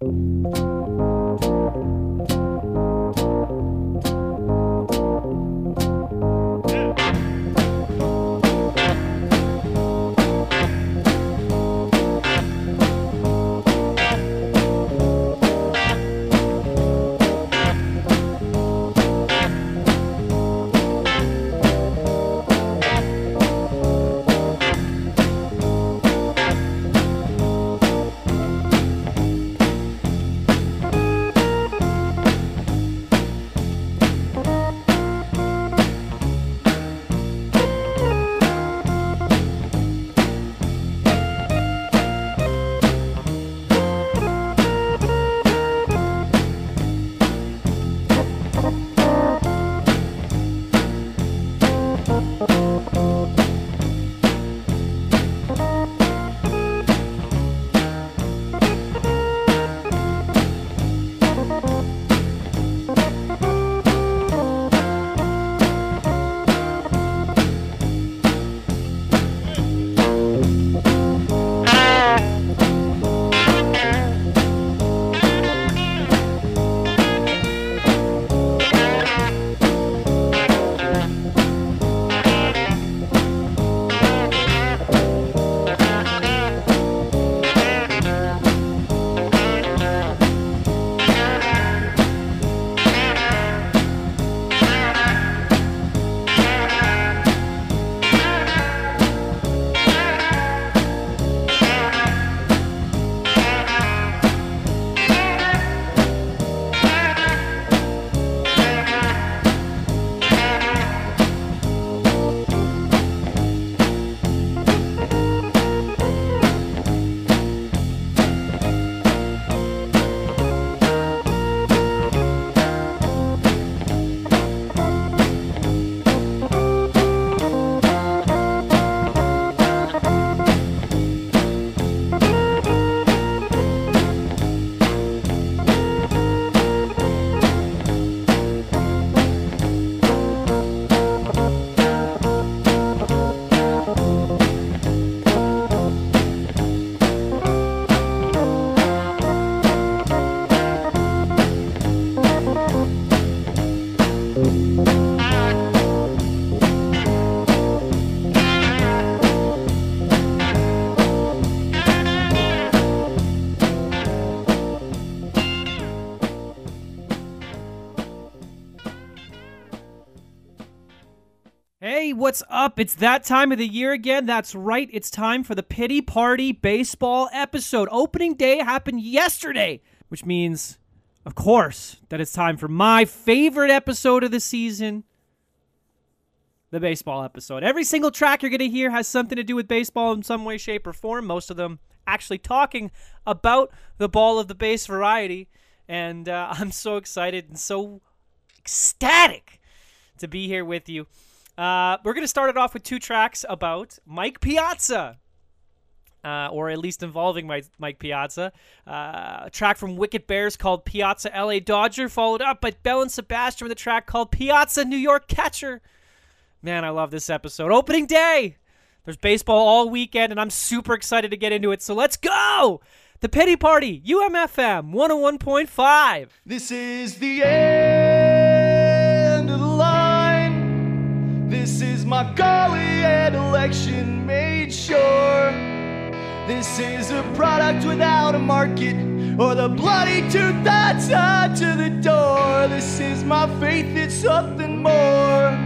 Hey, what's up? It's that time of the year again. That's right. It's time for the Pity Party Baseball episode. Opening day happened yesterday, which means, of course, that it's time for my favorite episode of the season, the baseball episode. Every single track you're going to hear has something to do with baseball in some way, shape, or form. Most of them actually talking about the ball of the base variety. And I'm so excited and so ecstatic to be here with you. We're going to start it off with two tracks about Mike Piazza, or at least involving Mike Piazza. A track from Wicked Bears called Piazza LA Dodger, followed up by Belle and Sebastian with a track called Piazza New York Catcher. Man, I love this episode. Opening day! There's baseball all weekend, and I'm super excited to get into it, so let's go! The Pity Party, UMFM 101.5. This is the end of the line. This is my golly and election made sure. This is a product without a market or the bloody tooth that's tied to the door. This is my faith, it's something more.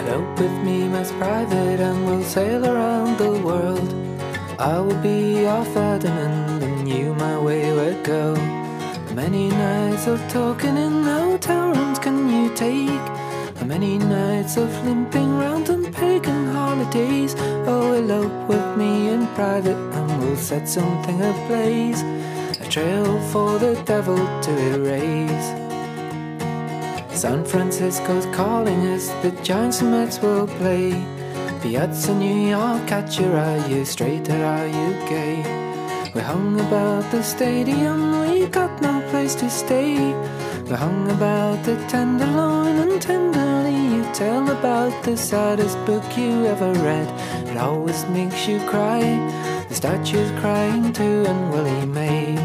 Elope with me, Miss Private, and we'll sail around the world. I will be your Ferdinand, and you my wayward girl. How many nights of talking in hotel rooms can you take? How many nights of limping round on pagan holidays? Oh, elope with me in private, and we'll set something ablaze, a trail for the devil to erase. San Francisco's calling us, the Giants and Mets will play. Piazza New York, catch your eye, you straight or are you gay? We hung about the stadium, we got no place to stay. We hung about the Tenderloin, and tenderly you tell about the saddest book you ever read. It always makes you cry, the statue's crying too, and Willie May.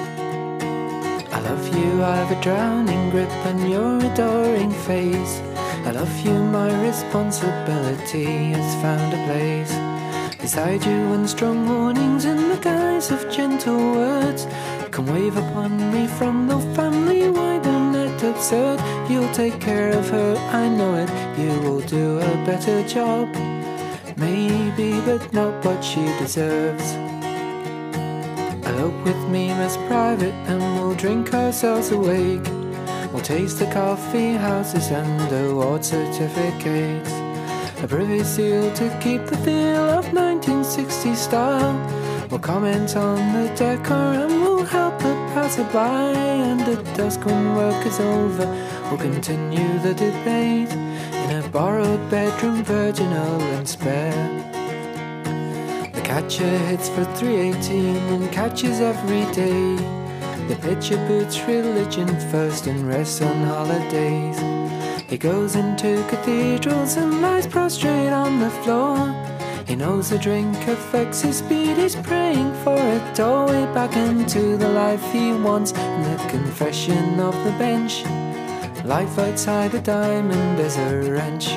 I love you, I've a drowning grip on your adoring face. I love you, my responsibility has found a place beside you, in strong warnings in the guise of gentle words. Come wave upon me from the family wider net absurd. You'll take care of her, I know it, you will do a better job. Maybe, but not what she deserves. Elope with me, Miss Private, and we'll drink ourselves awake. We'll taste the coffee houses and award certificates. A privy seal to keep the feel of 1960s style. We'll comment on the decor and we'll help the passerby. And at dusk when work is over, we'll continue the debate in a borrowed bedroom, virginal and spare. The catcher hits for 318 and catches every day. The pitcher boots religion first and rests on holidays. He goes into cathedrals and lies prostrate on the floor. He knows the drink affects his speed, he's praying for a doorway back into the life he wants. In the confession of the bench, life outside the diamond is a wrench.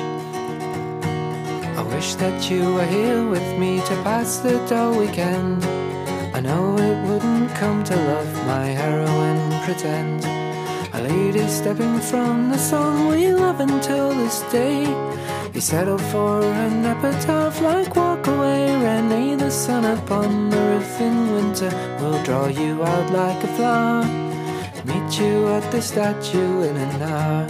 I wish that you were here with me to pass the dull weekend. I know it wouldn't come to love my heroine pretend. A lady stepping from the song we love until this day. He settled for an epitaph like Walk Away, Renee. The sun upon the roof in winter will draw you out like a flower. Meet you at the statue in an hour.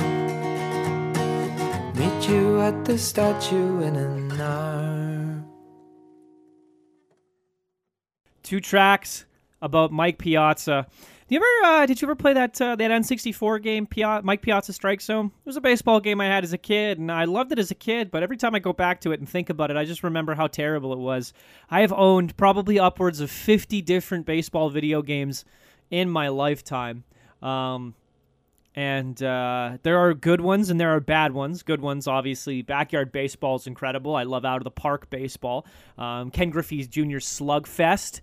Meet you at the statue in an hour. Two tracks about Mike Piazza. Did you ever play that N64 game, Mike Piazza Strike Zone? It was a baseball game I had as a kid, and I loved it as a kid, but every time I go back to it and think about it, I just remember how terrible it was. I have owned probably upwards of 50 different baseball video games in my lifetime. And there are good ones and there are bad ones. Good ones, obviously, Backyard Baseball is incredible. I love Out of the Park Baseball. Ken Griffey Jr. Slugfest.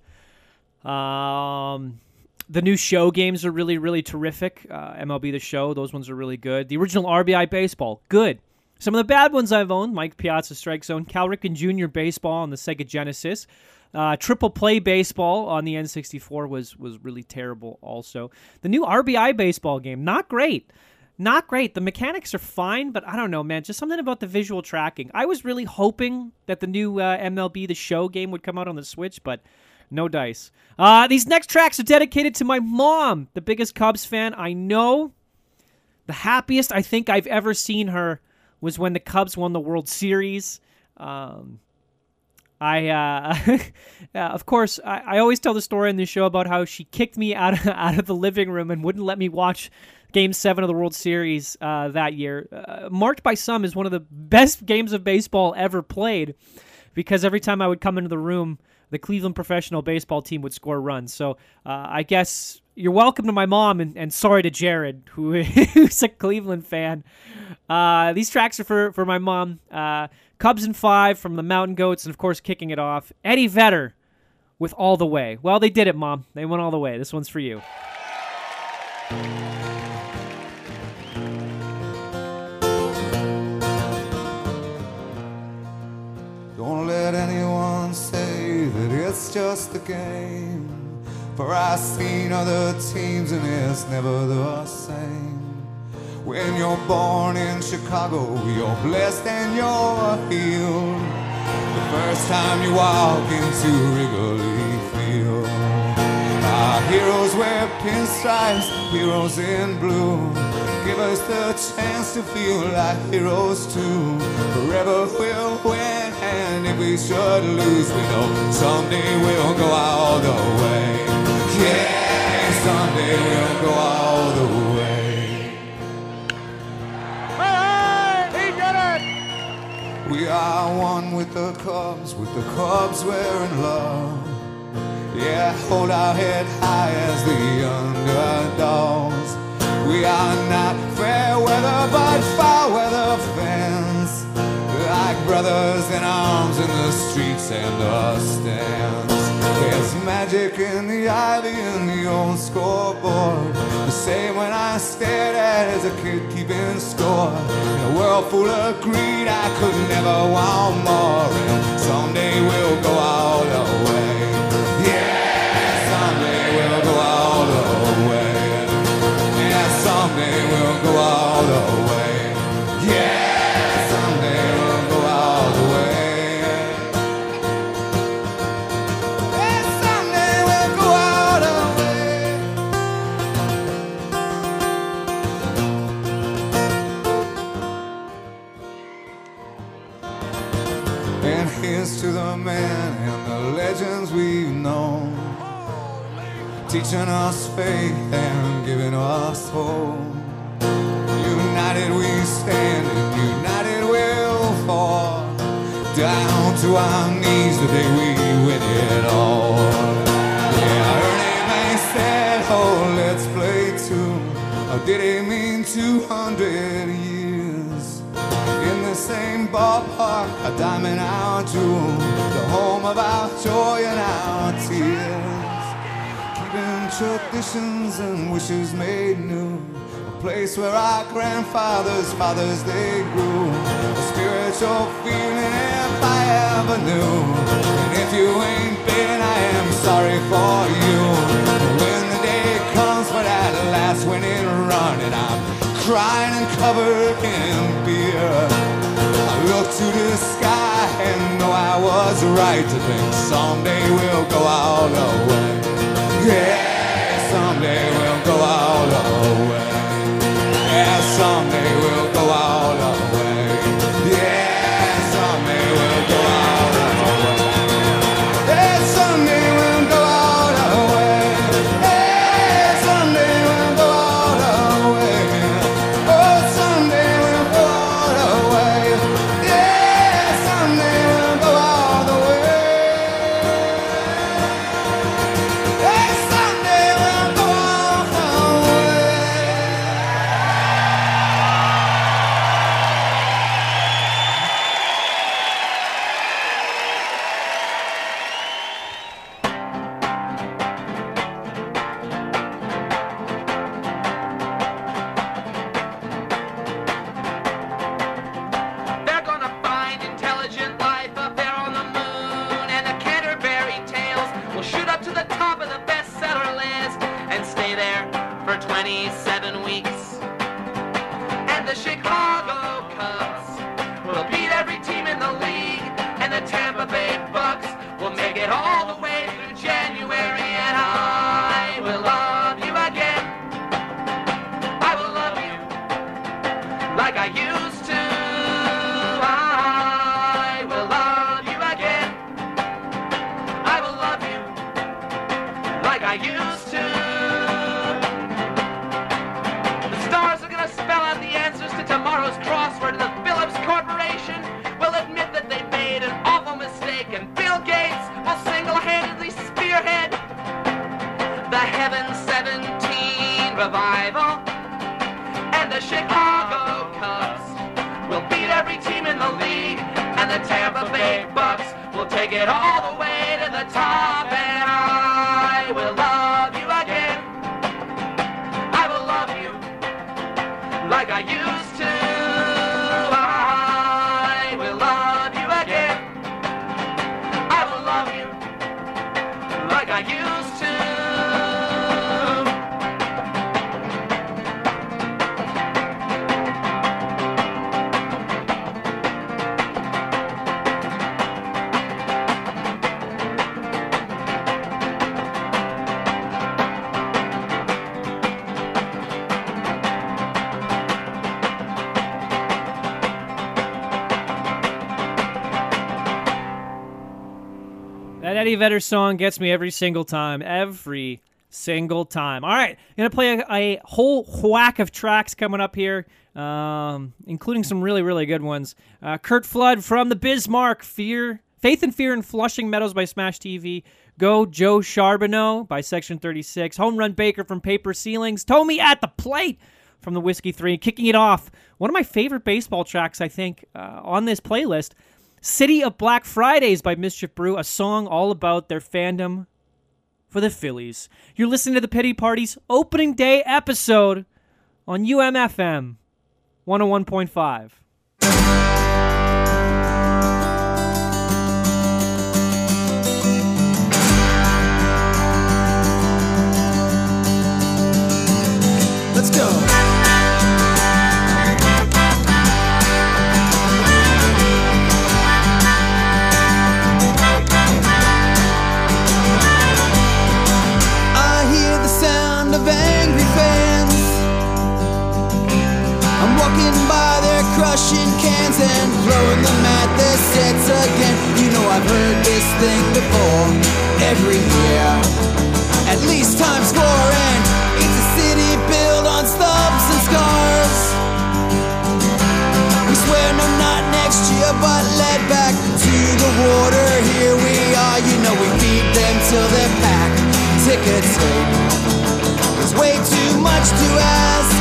The new show games are really, really terrific. MLB The Show, those ones are really good. The original RBI Baseball, good. Some of the bad ones I've owned, Mike Piazza Strike Zone, Cal Ripken Jr. Baseball on the Sega Genesis. Triple Play Baseball on the N64 was really terrible also. The new RBI Baseball game, not great. Not great. The mechanics are fine, but I don't know, man. Just something about the visual tracking. I was really hoping that the new MLB The Show game would come out on the Switch, but no dice. These next tracks are dedicated to my mom, the biggest Cubs fan I know. The happiest I think I've ever seen her was when the Cubs won the World Series. Of course, I always tell the story in the show about how she kicked me out of the living room and wouldn't let me watch Game 7 of the World Series that year. Marked by some as one of the best games of baseball ever played, because every time I would come into the room, the Cleveland professional baseball team would score runs. So I guess you're welcome to my mom, and sorry to Jared, who's a Cleveland fan. These tracks are for my mom. Cubs in 5 from the Mountain Goats, and of course, kicking it off, Eddie Vedder with All the Way. Well, they did it, Mom. They went all the way. This one's for you. Don't let anyone say that it's just a game, for I've seen other teams and it's never the same. When you're born in Chicago, you're blessed and you're healed. The first time you walk into Wrigley Field. Our heroes wear pinstripes, heroes in blue. Give us the chance to feel like heroes too. Forever we'll win, and if we should lose, we know someday we'll go all the way. Yeah, someday we'll go all the way. He did it! We are one with the Cubs we're in love. Yeah, hold our head high as the underdogs. We are not fair weather but foul weather fans. Like brothers in arms in the streets and the stands. There's magic in the ivy and the old scoreboard. The same when I stared at as a kid keeping score. In a world full of greed I could never want more. And someday we'll go all the way. Yeah, someday we'll go all the way. Yeah, someday we'll go all the way. Yeah, someday we'll go all the way. Yeah, someday we'll go all the way. And here's to the men and the legends we've known, teaching us faith and giving us hope. United we stand and united we'll fall. Down to our knees the day we win it all. Yeah, Ernie May said, oh, let's play two. Or did he mean 200 years? In the same ballpark, a diamond our jewel, the home of our joy and our tears. Keeping traditions and wishes made new. A place where our grandfathers, fathers, they grew. A spiritual feeling if I ever knew. And if you ain't been, I am sorry for you. And when the day comes for that last winning run, and I'm crying and covered in beer, I look to the sky and know I was right to think someday we'll go all the way. Yeah, someday we'll go all the way. Yeah, someday we'll go all the way. Yeah, someday we'll go all the way. Yeah, someday we'll go all the way. Yeah, someday we'll go all the way. Oh, someday we'll go all the way. Yeah, someday we'll go all the way. Yeah, someday we'll go all the way. They're gonna find intelligent life up there on the moon, and the Canterbury Tales will shoot up to the top of the bestseller list and stay there for 27 weeks. And the Chicago Cubs will beat every team in the league, and the Tampa Bay Bucks will make it all the way through January, and I will love you again. I will love you like I used to. I will love you again. I will love you like I used to. The stars are gonna spell out the answers to tomorrow's crossword, and the Phillips Corporation will admit that they made an awful mistake, and Bill Gates will single-handedly spearhead the Heaven 17 revival. And the Chicago Cubs will beat every team in the league, and the Tampa Bay Bucks will take it all the way to the top, and I will love you again. I will love you like I used to. I will love you again. I will love you like I used to. That Eddie Vedder song gets me every single time. Every single time. All right, I'm going to play a whole whack of tracks coming up here, including some really, really good ones. Kurt Flood from the Bismarck, Faith and Fear in Flushing Meadows by Smash TV. Go Joe Charbonneau by Section 36. Home Run Baker from Paper Ceilings. Tommy at the Plate from the Whiskey 3. Kicking it off, one of my favorite baseball tracks, I think, on this playlist, City of Black Fridays by Mischief Brew, a song all about their fandom for the Phillies. You're listening to the Pity Party's opening day episode on UMFM 101.5. Let's go. I hear the sound of angry fans. I'm walking by, they're crushing cans and throwing them at the sets again. You know I've heard this thing before, every year, at least times 4, and it's a city built on stubs and scars. We swear no, not next year, but led back to the water. Here we are, you know we feed them till they're packed. Ticket tape, there's way too much to ask.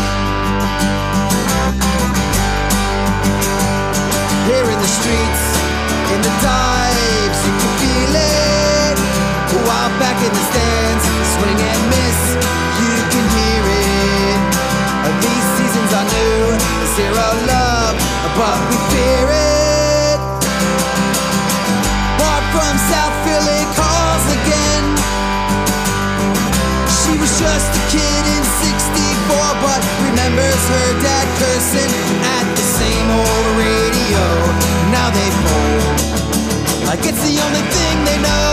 Here in the streets, in the dives, you can feel it. While back in the stands, swing and miss, you can hear it. These seasons are new, zero love, but we fear it. Bart from South Philly calls again. She was just a kid in '64, but remembers her dad cursing at the same old radio. Now they fold, like it's the only thing they know.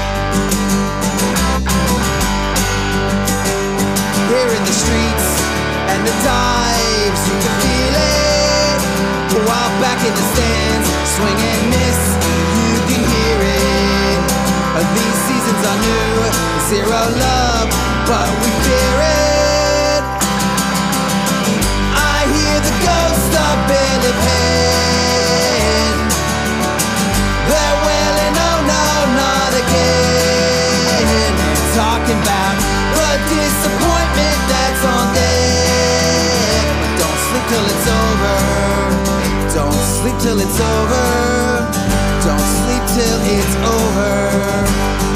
Here in the streets and the dives, you can feel it. While back in the stands, swing and miss, you can hear it. These seasons are new, zero love, but we fear it. I hear the ghost of Billy Penn. They're wailing, oh no, not again. They're talking about the disappointment that's on deck. But don't sleep till it's over. Don't sleep till it's over. Don't sleep till it's over.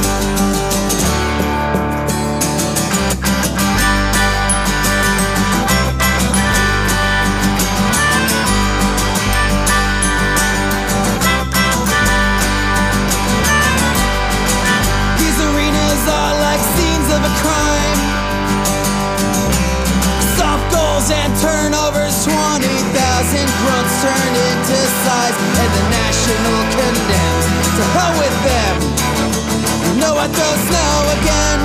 And turnovers, 20,000 grunts turn into size, and the national condemns. To hell with them. You know what they'll snow again.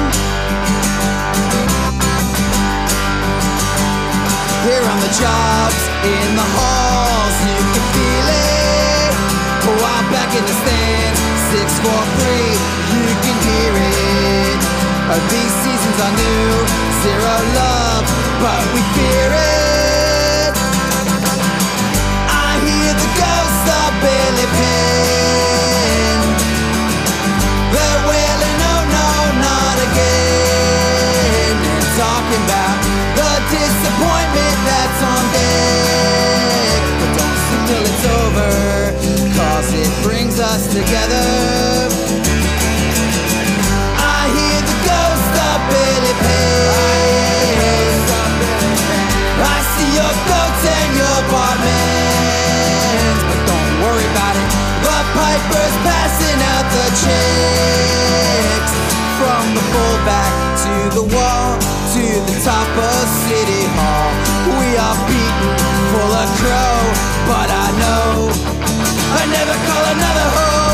Here on the jobs, in the halls, you can feel it. While back in the stands, 643, you can hear it. These seasons are new, zero love, but we fear it. I hear the ghost of Billy Penn. They're wailing, oh no, not again. They're talking about the disappointment that's on deck. But don't sleep till it's over, 'cause it brings us together. Billy Penn. I see your goats and your barmaids, but don't worry about it. The piper's passing out the checks. From the fullback to the wall, to the top of City Hall. We are beaten, full of crow, but I know I never call another home.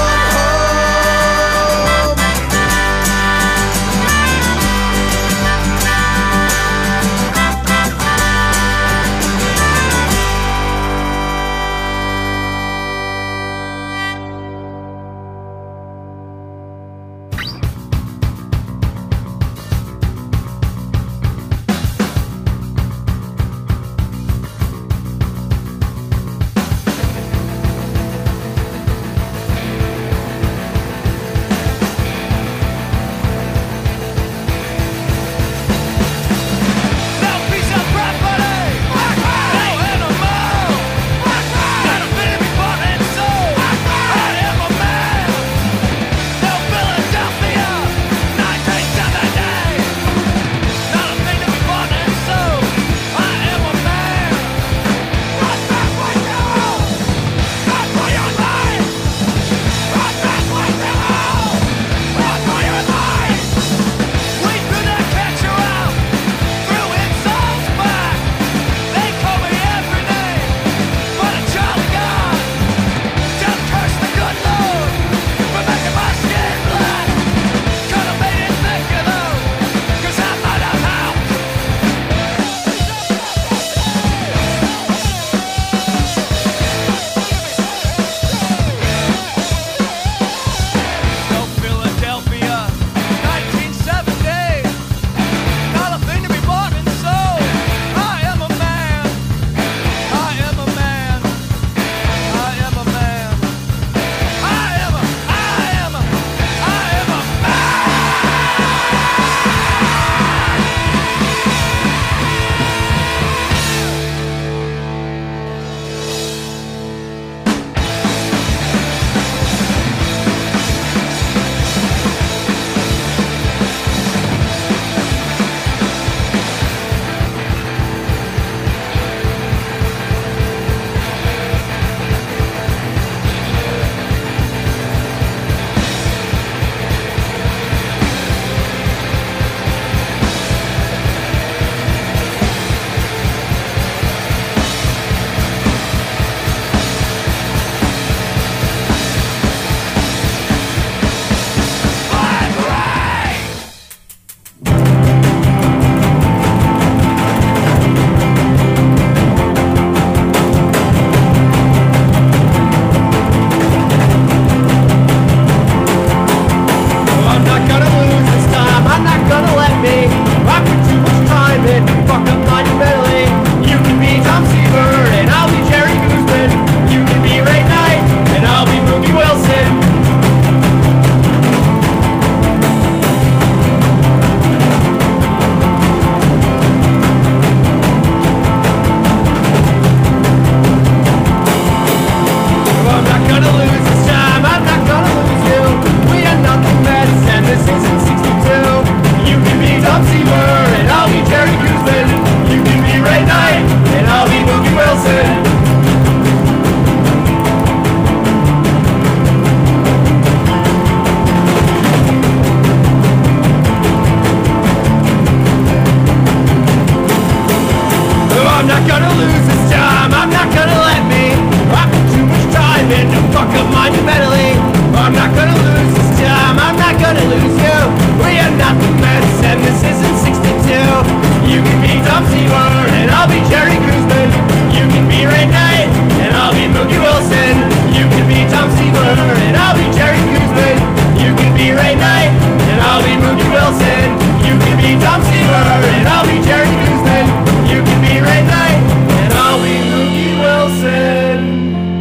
Seaver, and I'll be Jerry Guzman. You can be Ray Knight, and I'll be Mookie Wilson. You can be Tom Seaver, and I'll be Jerry Guzman. You can be Ray Knight, and I'll be Mookie Wilson.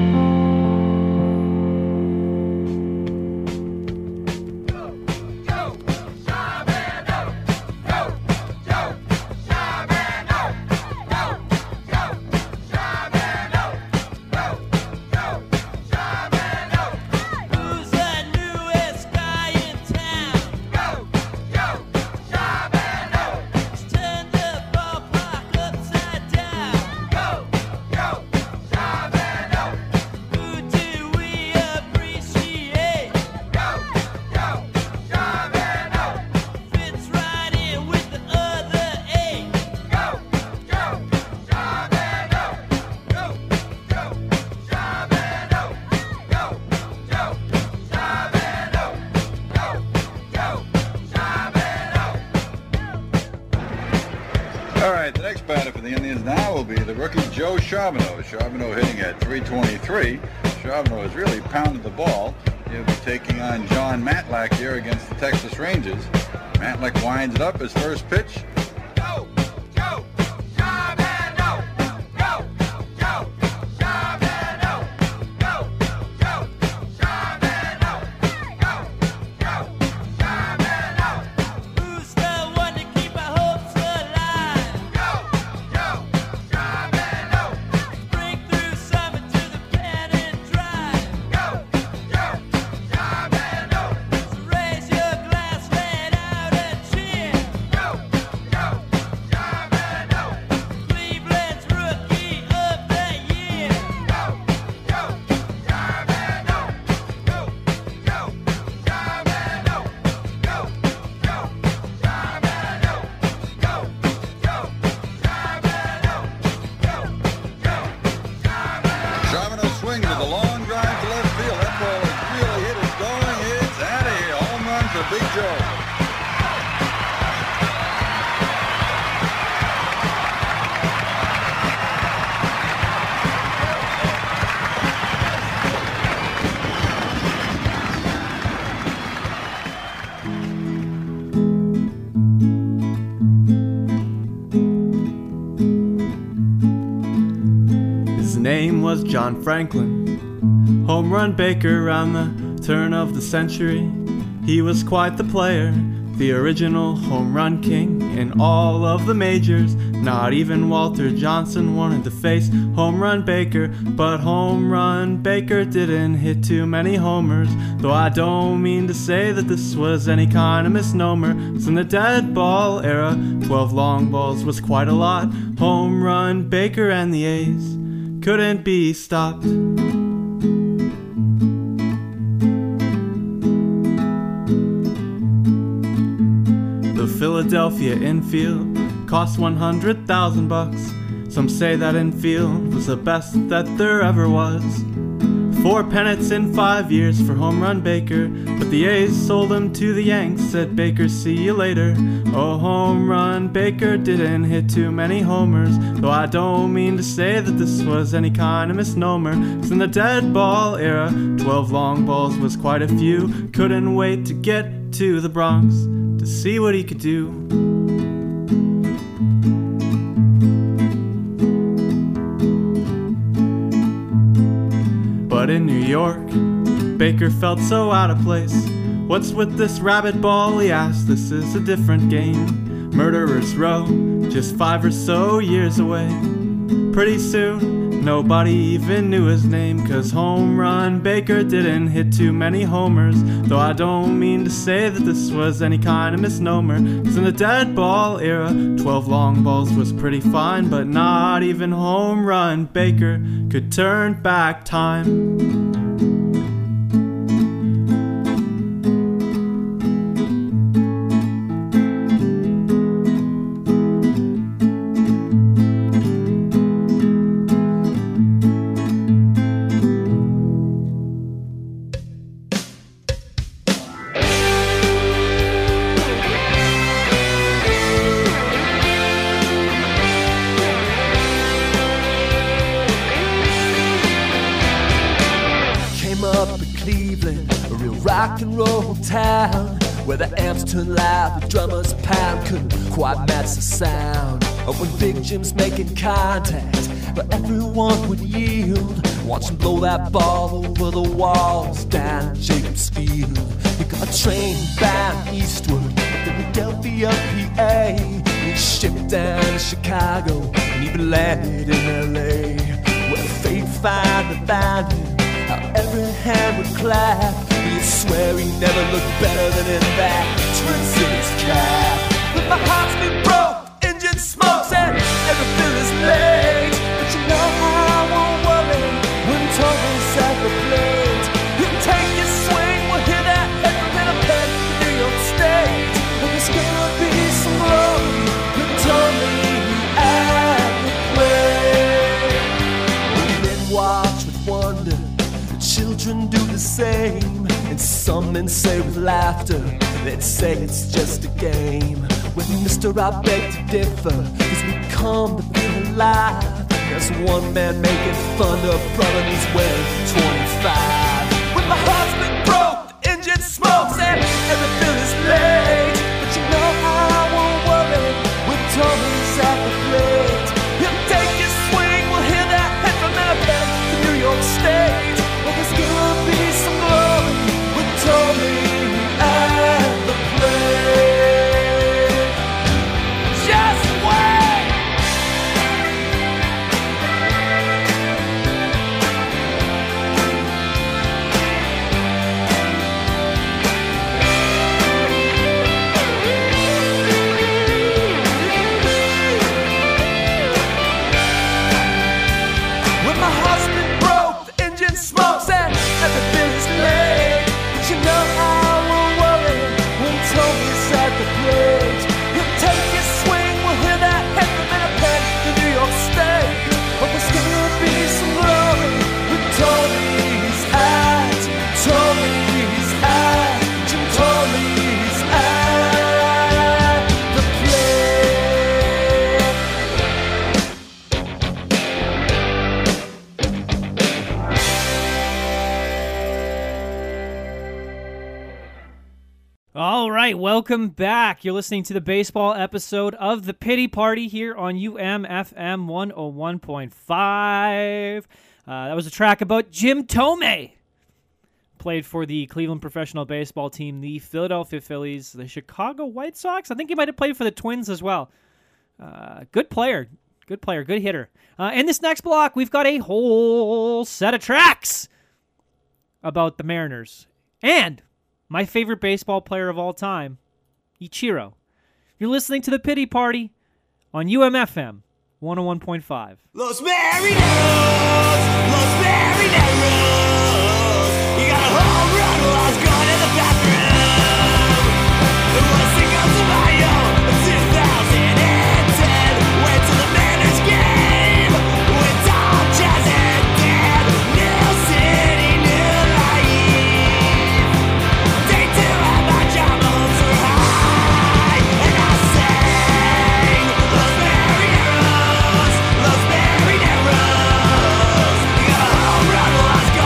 All right, the next batter for the Indians now will be the rookie Joe Charbonneau. Charbonneau hitting at .323. Charbonneau has really pounded the ball. He'll be taking on John Matlack here against the Texas Rangers. Matlack winds it up, his first pitch. Go, go, Charbonneau. Go, go, Charbonneau. Go, go, Charbonneau. Go, go, Charbonneau. Who's the one to keep our hopes alive? Go, go, Charbonneau. Spring through summer to the pennant drive. Go, go, Charbonneau. So raise your glass, let out a cheer. Go, go, Charbonneau. Cleveland's Rookie of the Year. Go, go, Charbonneau. Go, go, Charbonneau. Go, go, Charbonneau. Go, go, Charbonneau. Go, go, Charbonneau. Charbonneau swings with a long drive to left field. That ball is really hit. It's going. It's out of here. Home run for Big Joe. His name was John Franklin, home run baker around the turn of the century. He was quite the player, the original home run king in all of the majors. Not even Walter Johnson wanted to face home run Baker, but home run Baker didn't hit too many homers. Though I don't mean to say that this was any kind of misnomer, 'cause in the dead ball era, 12 long balls was quite a lot. Home run Baker and the A's couldn't be stopped. The Philadelphia infield cost $100,000. Some say that infield was the best that there ever was. 4 pennants in 5 years for home run Baker, but the A's sold him to the Yanks, said Baker, see you later. Oh, home run Baker didn't hit too many homers, though I don't mean to say that this was any kind of misnomer. 'Cause in the dead ball era, 12 long balls was quite a few. Couldn't wait to get to the Bronx to see what he could do. But in New York, Baker felt so out of place. What's with this rabbit ball, he asked, this is a different game. Murderer's Row, just 5 or so years away. Pretty soon, nobody even knew his name, 'cause home run Baker didn't hit too many homers. Though I don't mean to say that this was any kind of misnomer, 'cause in the dead ball era, 12 long balls was pretty fine. But not even home run Baker could turn back time. in Cleveland, a real rock and roll town, where the amps turn loud, the drummers pound, couldn't quite match the sound of when Big Jim's making contact, but everyone would yield. Watch him blow that ball over the walls down Jacobs Field. He got a train bound eastward, Philadelphia, PA. He shipped down to Chicago and even landed in LA, where fate finally found him. How every hand would clap. He'd swear he never looked better than in that Twin Cities cab. But my heart's been broke, engine smokes and everything is late. But you know how I won't worry when Tony's at the plate. He'll take his swing, we'll hear that echo in a pen in New York State. And there's gonna be some glory when Tony at the plate. When men watch with wonder, children do the same, and some men say with laughter, they'd say it's just a game. With Mr. I beg to differ, cause we come to feel alive. There's one man making fun of brother and he's wearing 25. When my heart's been broke, the engine smokes and everything is late. But you know how I won't worry when Tony's at the plate. He'll take his swing, we'll hear that head from Winnipeg to New York State. There's gonna be some glory with Tony at the plate. Just wait. When my heart's been broke, the engine smokes and everything is late. But you know how I won't worry when Tony's at the plate. He'll take his swing, we'll hear that head from Winnipeg to New York State. But there's gonna be some glory when Tony's at, Tony's at, Jim Tony's at the plate. All right, welcome back. You're listening to the baseball episode of The Pity Party here on UMFM 101.5. That was a track about Jim Thome. Played for the Cleveland professional baseball team, the Philadelphia Phillies, the Chicago White Sox. I think he might have played for the Twins as well. Good player, good hitter. In this next block, we've got a whole set of tracks about the Mariners. And my favorite baseball player of all time, Ichiro. You're listening to The Pity Party on UMFM 101.5. Los Marineros, Los Marineros. You got a home run while I was going to the bathroom. It was Cinco de Mayo of 2010. Went to the Mariners game with Tom Chazin. New city, new life. Day two at my job, hopes were high. And I sang Los Marineros, Los Marineros. You got a home run while I was going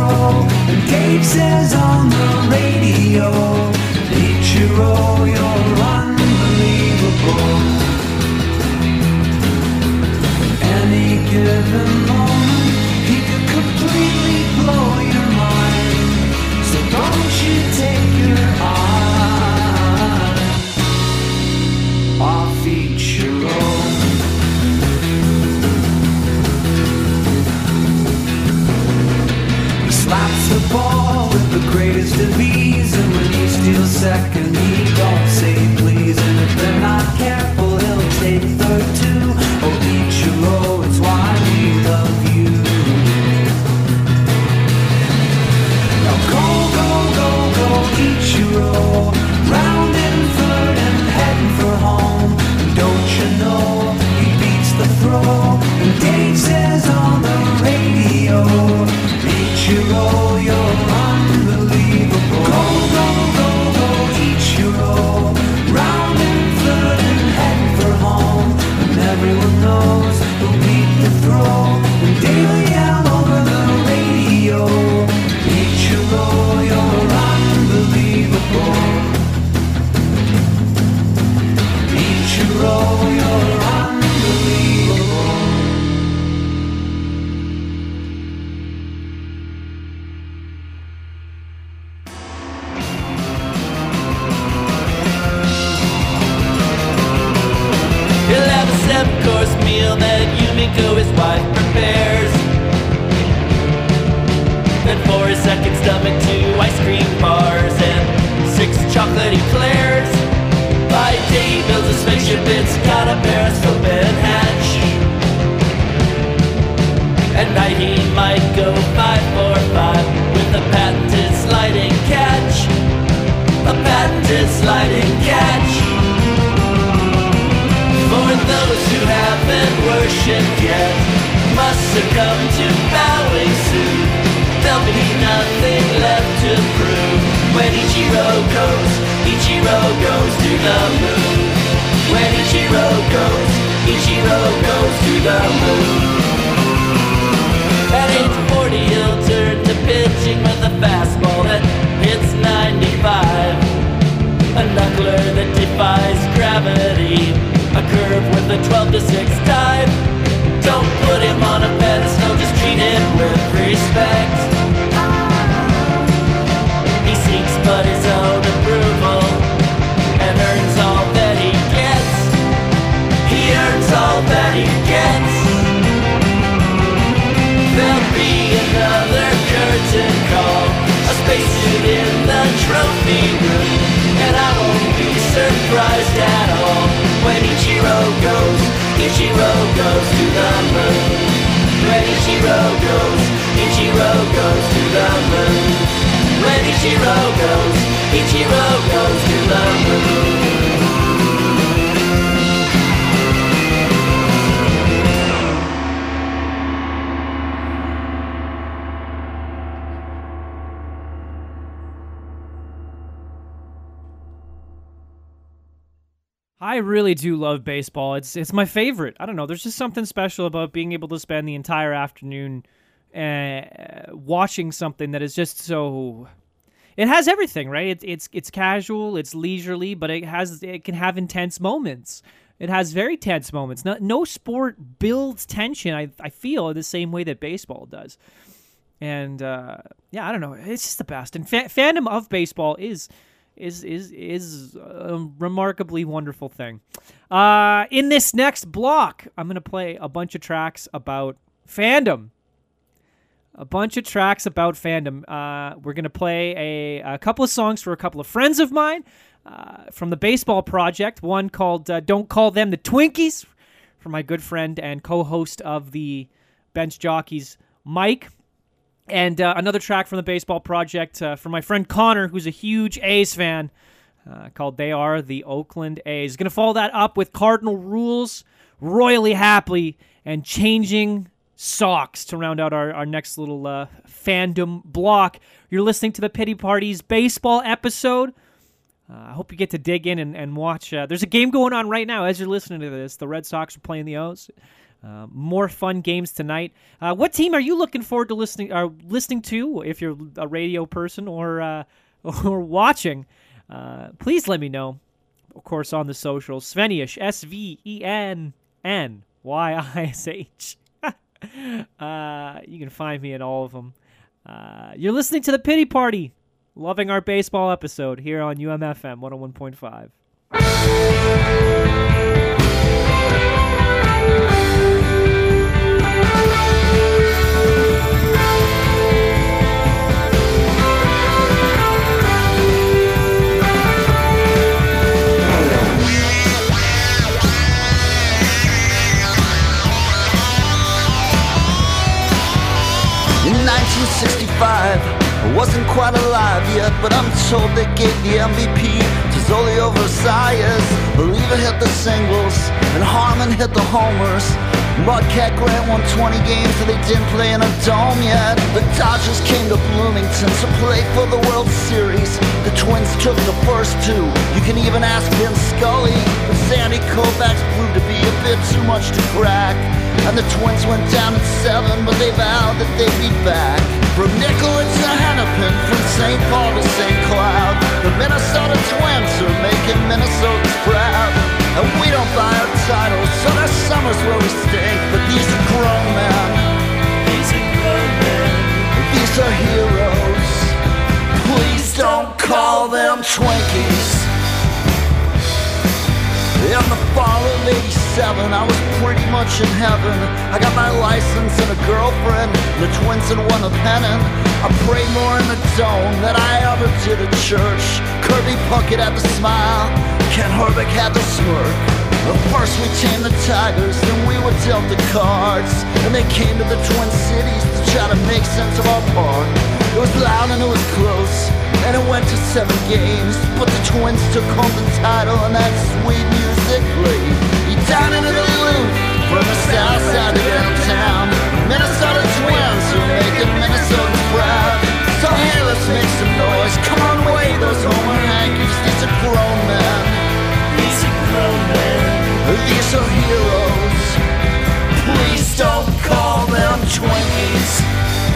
throw. And Dave says on the radio, Ichiro, you're unbelievable. Any given moment, he could completely blow your mind. So don't you take your eyes off Ichiro. He slaps the ball with the greatest of ease, and when you steal second, he don't say please. And if they're not careful, he'll take third too. Oh, Ichiro, it's why we love you. Now go, go, go, go, Ichiro, round and third and heading for home. And don't you know he beats the throw? And Dave says on the radio, Ichiro, you're unbelievable. Go, go, go, go, Ichiro, round and third and heading for home. And everyone knows he'll beat the throw. And Dave will yell over the radio, Ichiro, you're unbelievable. Ichiro, you're unbelievable. He'll have a 7-course meal that Yumiko, his wife, prepares. Then for his second stomach, 2 ice cream bars and 6 chocolate eclairs. By day he builds a spaceship, it's got a periscope and hatch. At night he might go 545 with a patented sliding catch. A patented sliding catch. For those who haven't worshipped yet must succumb to bowing soon. There'll be nothing left to prove when Ichiro goes to the moon. When Ichiro goes to the moon. At age 40 he'll turn to pitching with a fastball that hits 95. A knuckler that defies gravity. A curve with a 12-6 dive. Don't put him on a pedestal, just treat him with respect. He seeks but his own approval and earns all that he gets. He earns all that he gets. There'll be another curtain call, a spacesuit in the trophy room, and I won't be surprised at all when Ichiro goes to the moon. When Ichiro goes to the moon. When Ichiro goes to the moon. I really do love baseball. It's my favorite. I don't know. There's just something special about being able to spend the entire afternoon watching something that is just so. It has everything, right? It's casual, it's leisurely, but it can have intense moments. It has very tense moments. No sport builds tension. I feel the same way that baseball does. And yeah, I don't know. It's just the best. And fandom of baseball is a remarkably wonderful thing. In this next block, I'm going to play a bunch of tracks about fandom. We're going to play a couple of songs for a couple of friends of mine from the Baseball Project. One called Don't Call Them the Twinkies for my good friend and co-host of the Bench Jockeys, Mike. And another track from the Baseball Project from my friend Connor, who's a huge A's fan, called They Are the Oakland A's. Going to follow that up with Cardinal Rules, Royally Happy, and Changing Socks to round out our next little fandom block. You're listening to the Pity Party's baseball episode. I hope you get to dig in and watch. There's a game going on right now as you're listening to this. The Red Sox are playing the O's. More fun games tonight. What team are you looking forward to listening to? If you're a radio person or watching, please let me know. Of course, on the socials, Svenish, SVENNYISH. You can find me in all of them. You're listening to the Pity Party, loving our baseball episode here on UMFM 101.5. In 1965, I wasn't quite alive yet, but I'm told they gave the MVP to Zolio Versailles. Believer hit the singles, and Harmon hit the homers. Mudcat Grant won 20 games, but they didn't play in a dome yet. The Dodgers came to Bloomington to play for the World Series. The Twins took the first two. You can even ask Vince Scully, but Sandy Koufax proved to be a bit too much to crack. And the Twins went down at 7, but they vowed that they'd be back. From Nicollet to Hennepin, from St. Paul to St. Cloud, the Minnesota Twins are making Minnesotans proud. And we don't buy our titles, so there's summers where we stink. But these are grown men. These are grown men. These are heroes. Please don't call them Twinkies. In the fall of '87, I was pretty much in heaven. I got my license and a girlfriend. The Twins had won the pennant. I prayed more in the dome than I ever did at church. Kirby Puckett had the smile, Ken Herbeck had the smirk. But first we tamed the Tigers, then we were dealt the cards. And they came to the Twin Cities to try to make sense of our part. It was loud and it was close, and it went to 7 games. But the Twins took home the title and that sweet music played. You down into the loop, from the south side to downtown. Minnesota Twins are making Minnesotans proud. So hey, let's make some noise. Come on, wave those Homer hankies. These are grown men. These are grown men. These are heroes. Please don't call them Twinkies.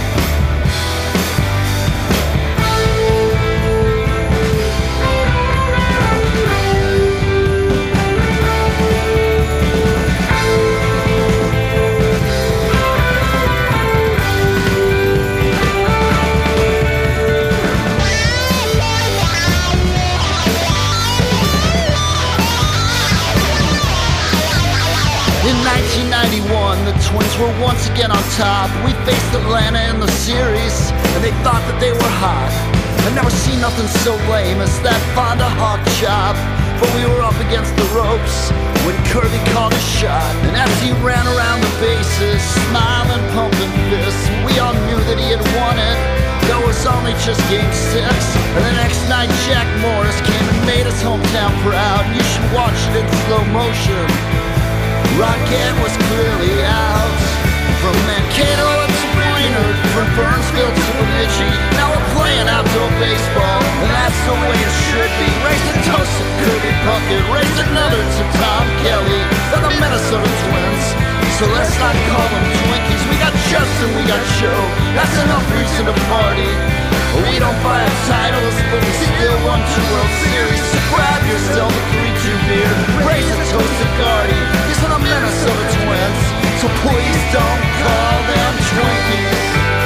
In 1991, the Twins were once again on top. We faced Atlanta in the series, and they thought that they were hot. I've never seen nothing so lame as that Fonda hawk chop. But we were up against the ropes when Kirby called a shot. And as he ran around the bases, smiling, pumping fists, we all knew that he had won it. That was only just game 6. And the next night Jack Morris came and made his hometown proud. You should watch it in slow motion. Rocket was clearly out. From Mankato to Brainerd, from Burnsville to Bemidji. Now we're playing outdoor baseball, and that's the way it should be. Raise a toast to Kirby Puckett, raise another to Tom Kelly. They're the Minnesota Twins, so let's not call them Twinkies. We got Justin, we got Joe, that's enough reason to party. We don't buy our titles, but we still won 2 World Series. So grab yourself a 3-2 beer, raise a toast to Gardy. These are the Minnesota Twins, so please don't call them Twinkies.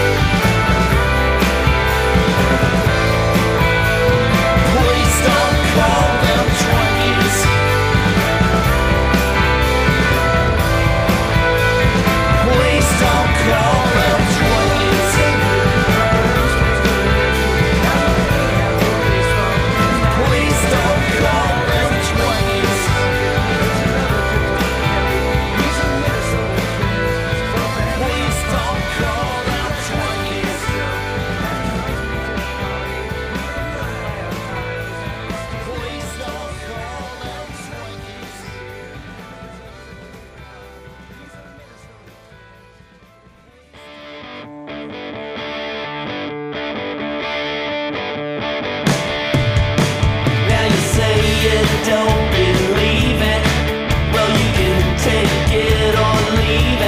Please don't call them Twinkies. Please don't call them Twinkies. Please don't call them Twinkies. Please don't call them Twinkies. Please don't call them Twinkies. Now you say you don't believe it. Well, you can take it or leave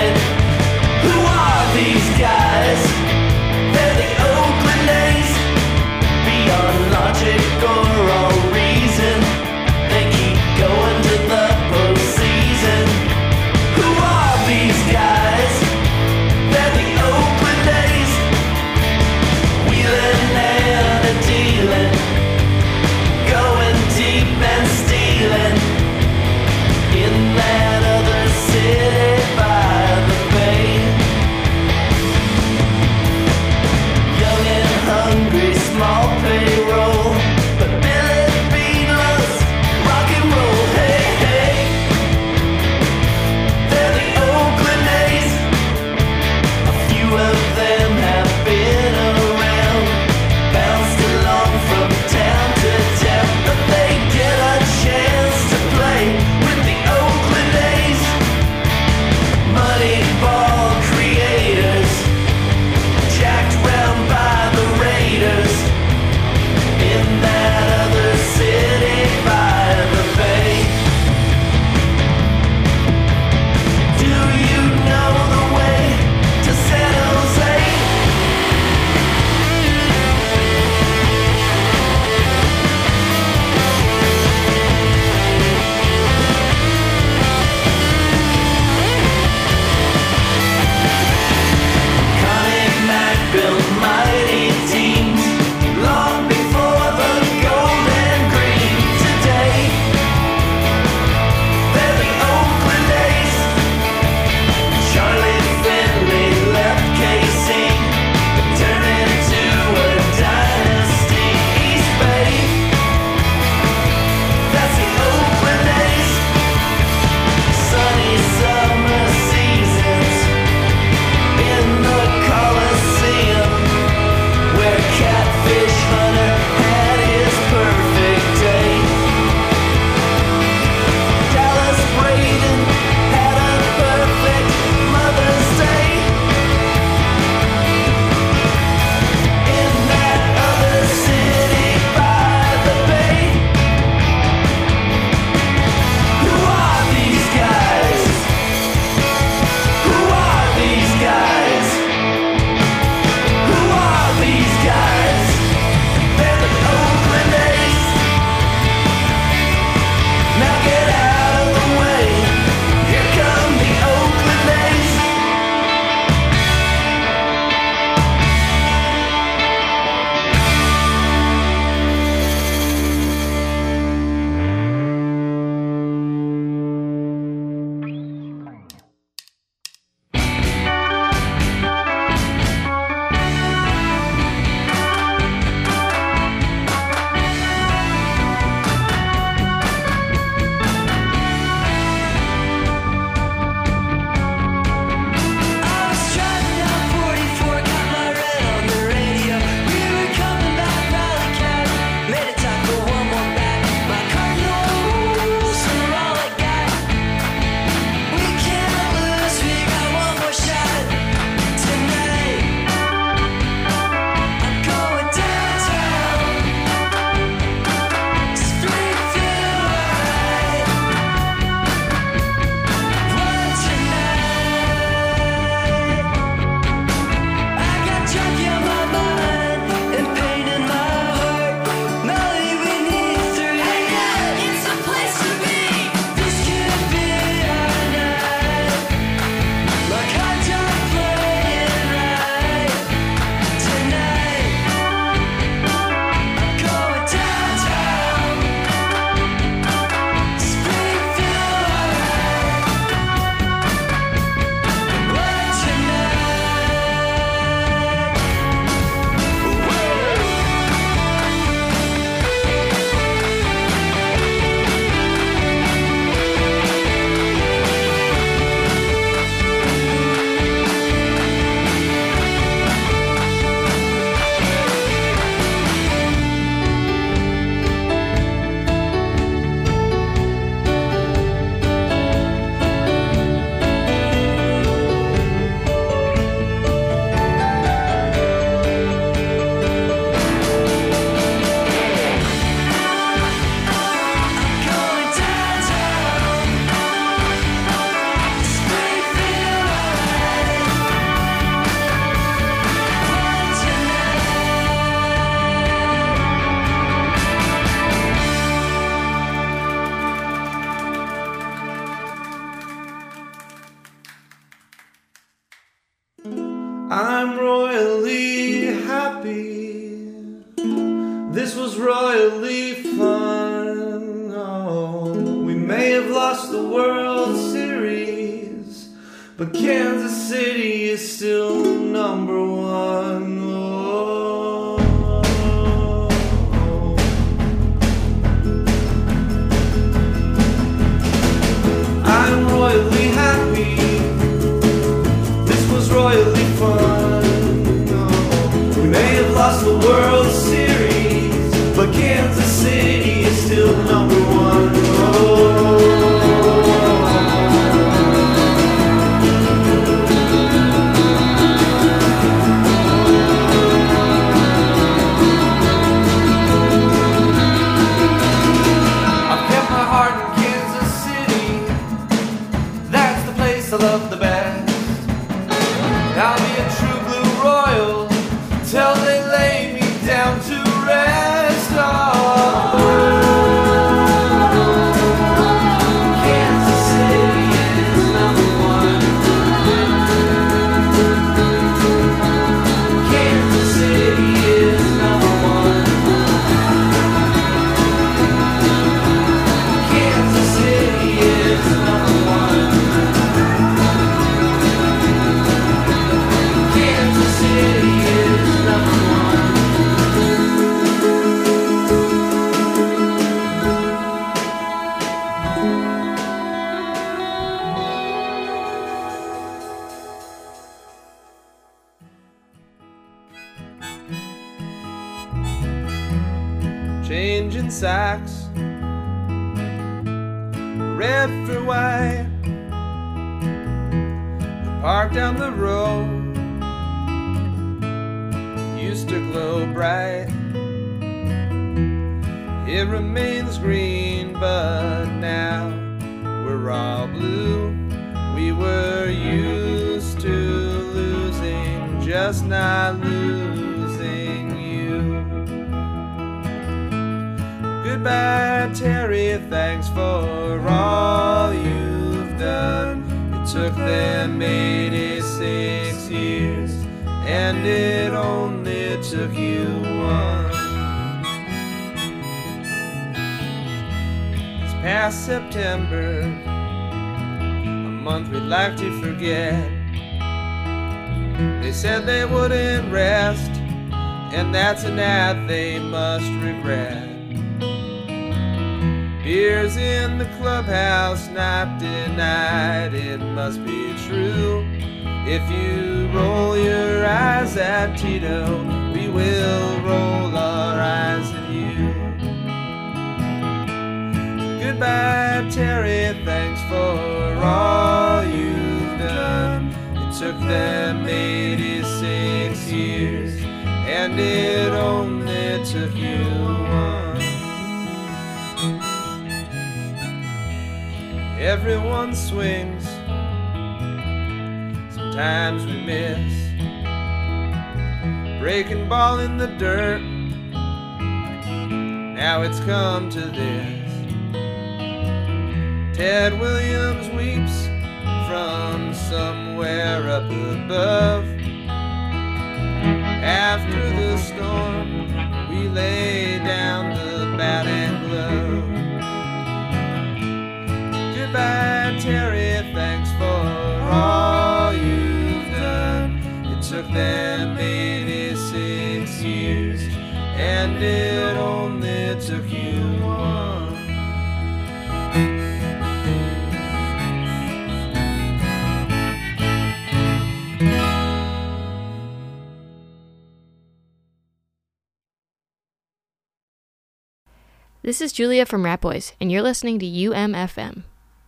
I'm royally happy. This was royally fun. Oh, we may have lost the World Series, but Kansas City is still number one. Oh. I'm royally happy. This was royally fun. Oh. We may have lost the World Series, but Kansas City is still number one. Oh. I love the best. I'll be a true blue royal till they lay me down to rest. Oh. Kansas City is number one. Kansas City is number one. Kansas City is number one. Changing socks, red for white. The park down the road used to glow bright. It remains green, but now we're all blue. We were used to losing, just not losing you. Goodbye, Terry, thanks for all you've done. It took them 86 years, and it only took you one. It's past September, a month we'd like to forget. They said they wouldn't rest, and that's a night they must regret. Beers in the clubhouse, not denied, it must be true. If you roll your eyes at Tito, we will roll our eyes at you. Goodbye, Terry, thanks for all you've done. It took them 86 years, and it only took you one. Everyone swings, sometimes we miss. Breaking ball in the dirt, now it's come to this. Ted Williams weeps from somewhere up above. After the storm, we lay down the bat and glove. Goodbye, Terry, thanks for all you've done. It took them 86 years, and it only took you one. This is Julia from Rat Boys, and you're listening to UMFM.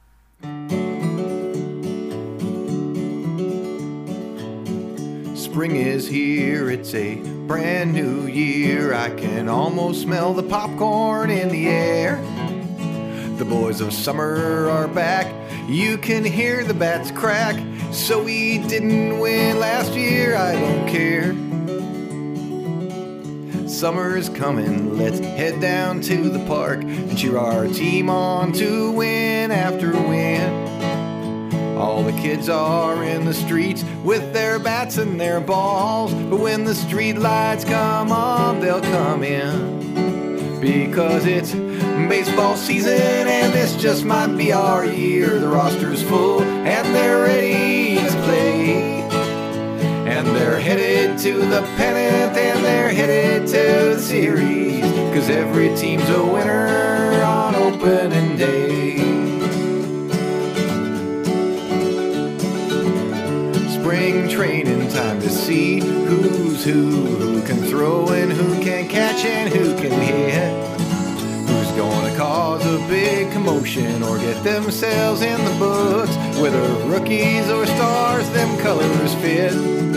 Spring is here, it's a brand new year. I can almost smell the popcorn in the air. The boys of summer are back, you can hear the bats crack. So we didn't win last year, I don't care. Summer is coming, let's head down to the park and cheer our team on to win after win. All the kids are in the streets with their bats and their balls. But when the street lights come on, they'll come in. Because it's baseball season and this just might be our year. The roster's full and they're ready to play. And they're headed to the pennant and they're headed to the series. Cause every team's a winner on opening day. Spring training time to see who's who can throw and who can catch and who can hit. Who's gonna cause a big commotion or get themselves in the books. Whether rookies or stars, them colors fit.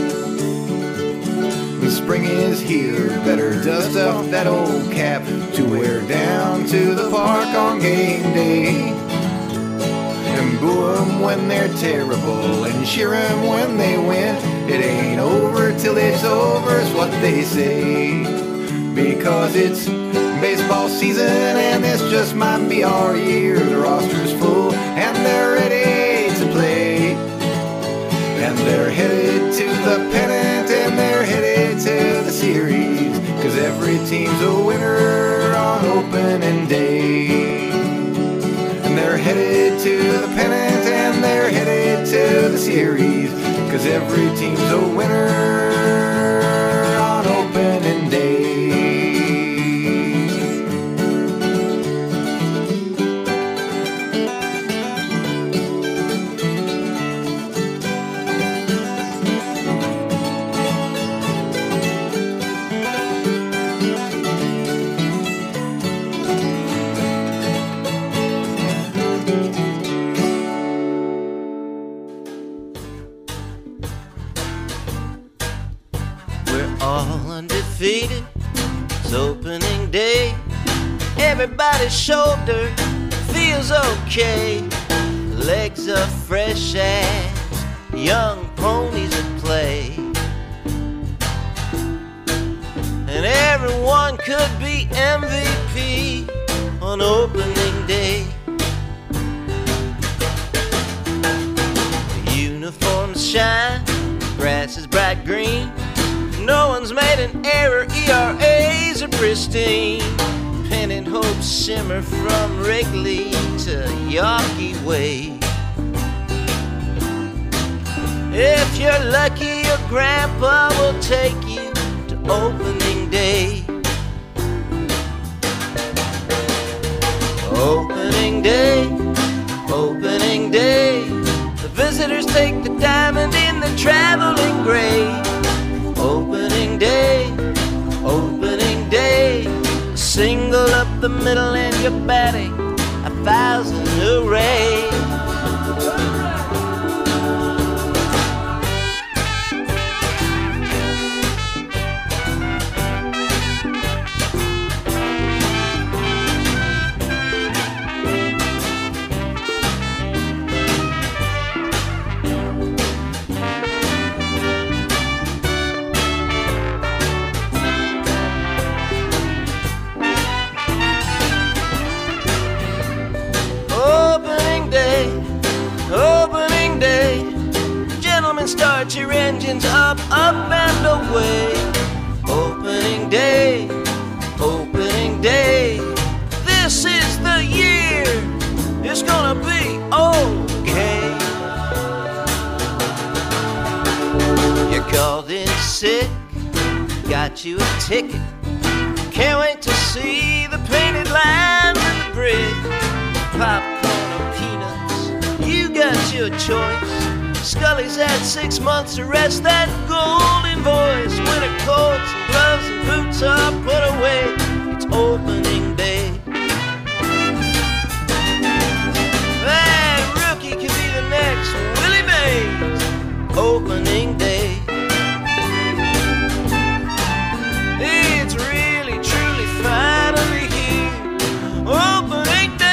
The spring is here, better dust off that old cap to wear down to the park on game day. And boo 'em when they're terrible and cheer 'em when they win. It ain't over till it's over is what they say. Because it's baseball season and this just might be our year. The roster's full and they're ready to play. And they're headed to the pennant and they're headed to the series. Cause every team's a winner on opening day. And they're headed to the pennant and they're headed to the series. Cause every team's a winner on opening day. Undefeated, it's opening day. Everybody's shoulder feels okay. Legs are fresh as young ponies at play. And everyone could be MVP on opening day. The uniforms shine, grass is bright green. No one's made an error, ERAs are pristine. Pennant hopes simmer from Wrigley to Yawkey Way. If you're lucky, your grandpa will take you to opening day. Opening day, opening day. The visitors take the diamond in the traveling gray. Opening day, opening day. A single up the middle and you're batting 1,000 hooray. Start your engines up, up and away. Opening day, opening day. This is the year, it's gonna be okay. You're called in sick, got you a ticket. Can't wait to see the painted lines and the brick. Popcorn or peanuts, you got your choice. Scully's had 6 months to rest that golden voice. Winter coats and gloves and boots are put away. It's opening day. That rookie could be the next Willie Mays. Opening day. It's really, truly, finally here. Opening day.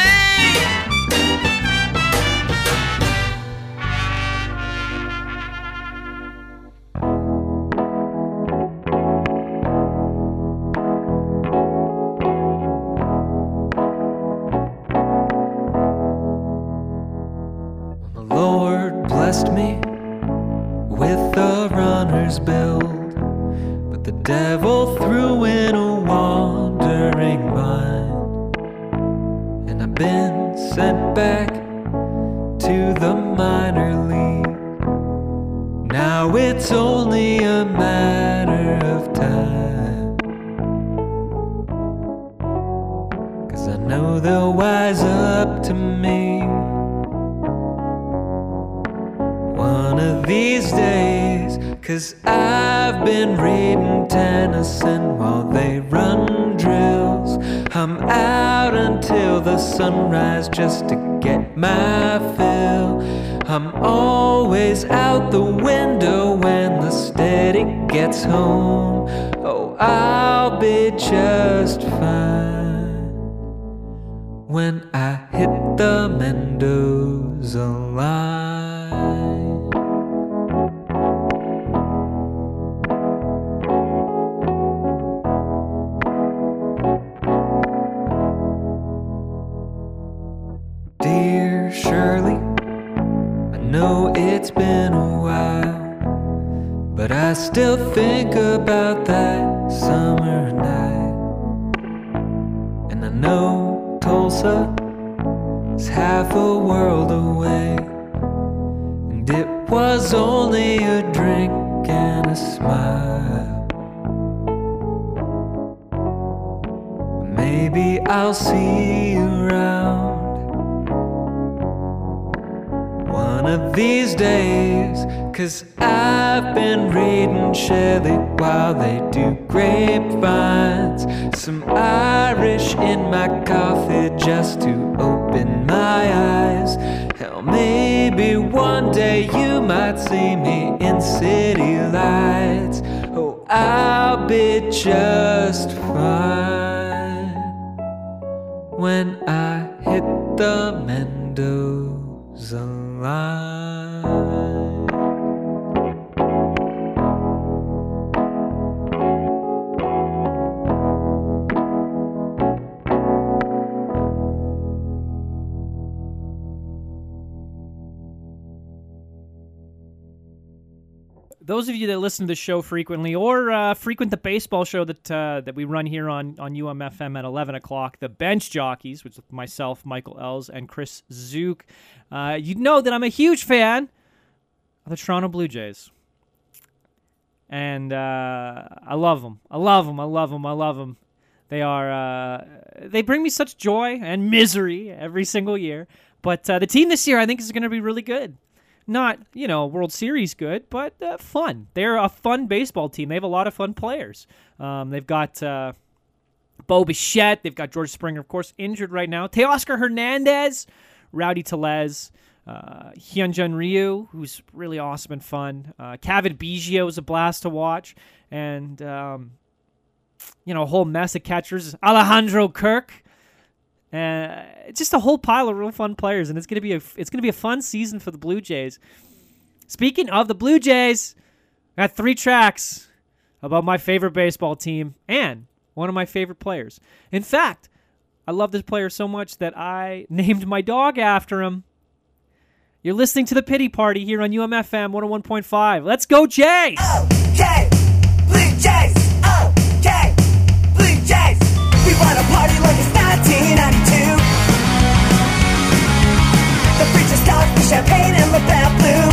Lord, a runner's build, but the devil threw in a wandering mind, and I've been sent back to the minor league. Now it's only a matter of time, 'cause I know they'll wise up to me one of these days. 'Cause I've been reading Tennyson while they run drills. I'm out until the sunrise just to get my fill. I'm always out the window when the steady gets home. Oh, I'll be just fine when I hit the Mendoza line. Dear Shirley, I know it's been a while, but I still think about that summer night. And I know Tulsa is half a world away, and it was only a drink and a smile. Maybe I'll see you around one of these days, 'cause I've been reading Shelley while they do grapevines. Some Irish in my coffee just to open my eyes. Hell, maybe one day you might see me in city lights. Oh, I'll be just fine when I hit the Mendoza line. Those of you that listen to the show frequently or frequent the baseball show that we run here on UMFM at 11 o'clock, the Bench Jockeys, which is myself, Michael Ells, and Chris Zook, you know that I'm a huge fan of the Toronto Blue Jays. And I love them. I love them. I love them. I love them. They bring me such joy and misery every single year. But the team this year, I think, is going to be really good. Not, World Series good, but fun. They're a fun baseball team. They have a lot of fun players. They've got Bo Bichette. They've got George Springer, of course, injured right now. Teoscar Hernandez, Rowdy Tellez, Hyunjin Ryu, who's really awesome and fun. Cavan Biggio is a blast to watch. And, a whole mess of catchers. Alejandro Kirk. Just a whole pile of real fun players, and it's gonna be a fun season for the Blue Jays. Speaking of the Blue Jays, I got 3 tracks about my favorite baseball team and one of my favorite players. In fact, I love this player so much that I named my dog after him. You're listening to the Pity Party here on UMFM 101.5. Let's go, Jays! Okay, Blue Jays. Okay, Blue Jays. We wanna party like it's 1992. The fridge is stocked with champagne and LaBatt Blue.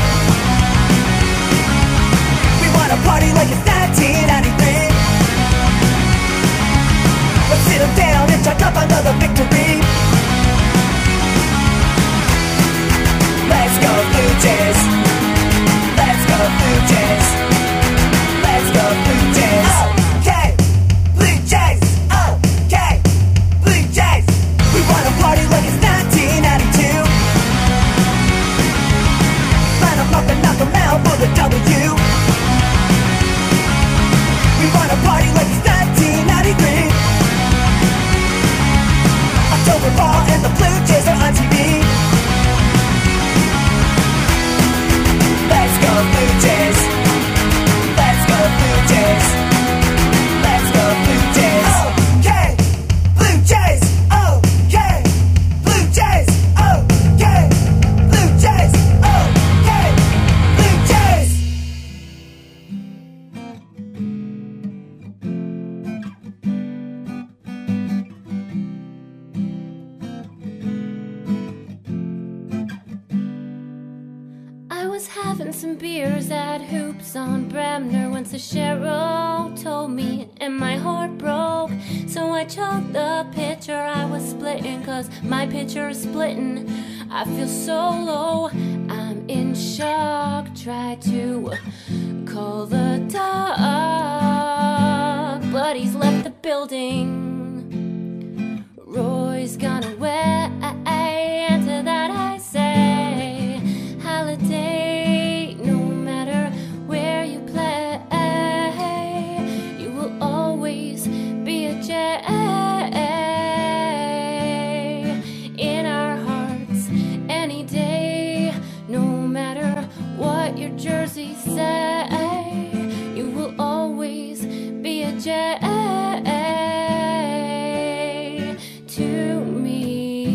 We wanna party like it's 1993. Let's sit down and talk up another victory. Let's go Blue Jays. Let's go Blue Jays. Let's go Blue Jays. Okay, Blue Jays. Okay, Blue Jays. We wanna party like it's 1992. popping some beers at Hoops on Bremner when Cheryl told me and my heart broke. So I chugged the pitcher I was splitting, cause my pitcher is splitting. I feel so low, I'm in shock. Try to call the doc, but he's left the building. Roy's gone away, and to that I say, Holiday, no matter where you play, you will always be a J in our hearts any day. No matter what your jersey say, you will always be a J to me.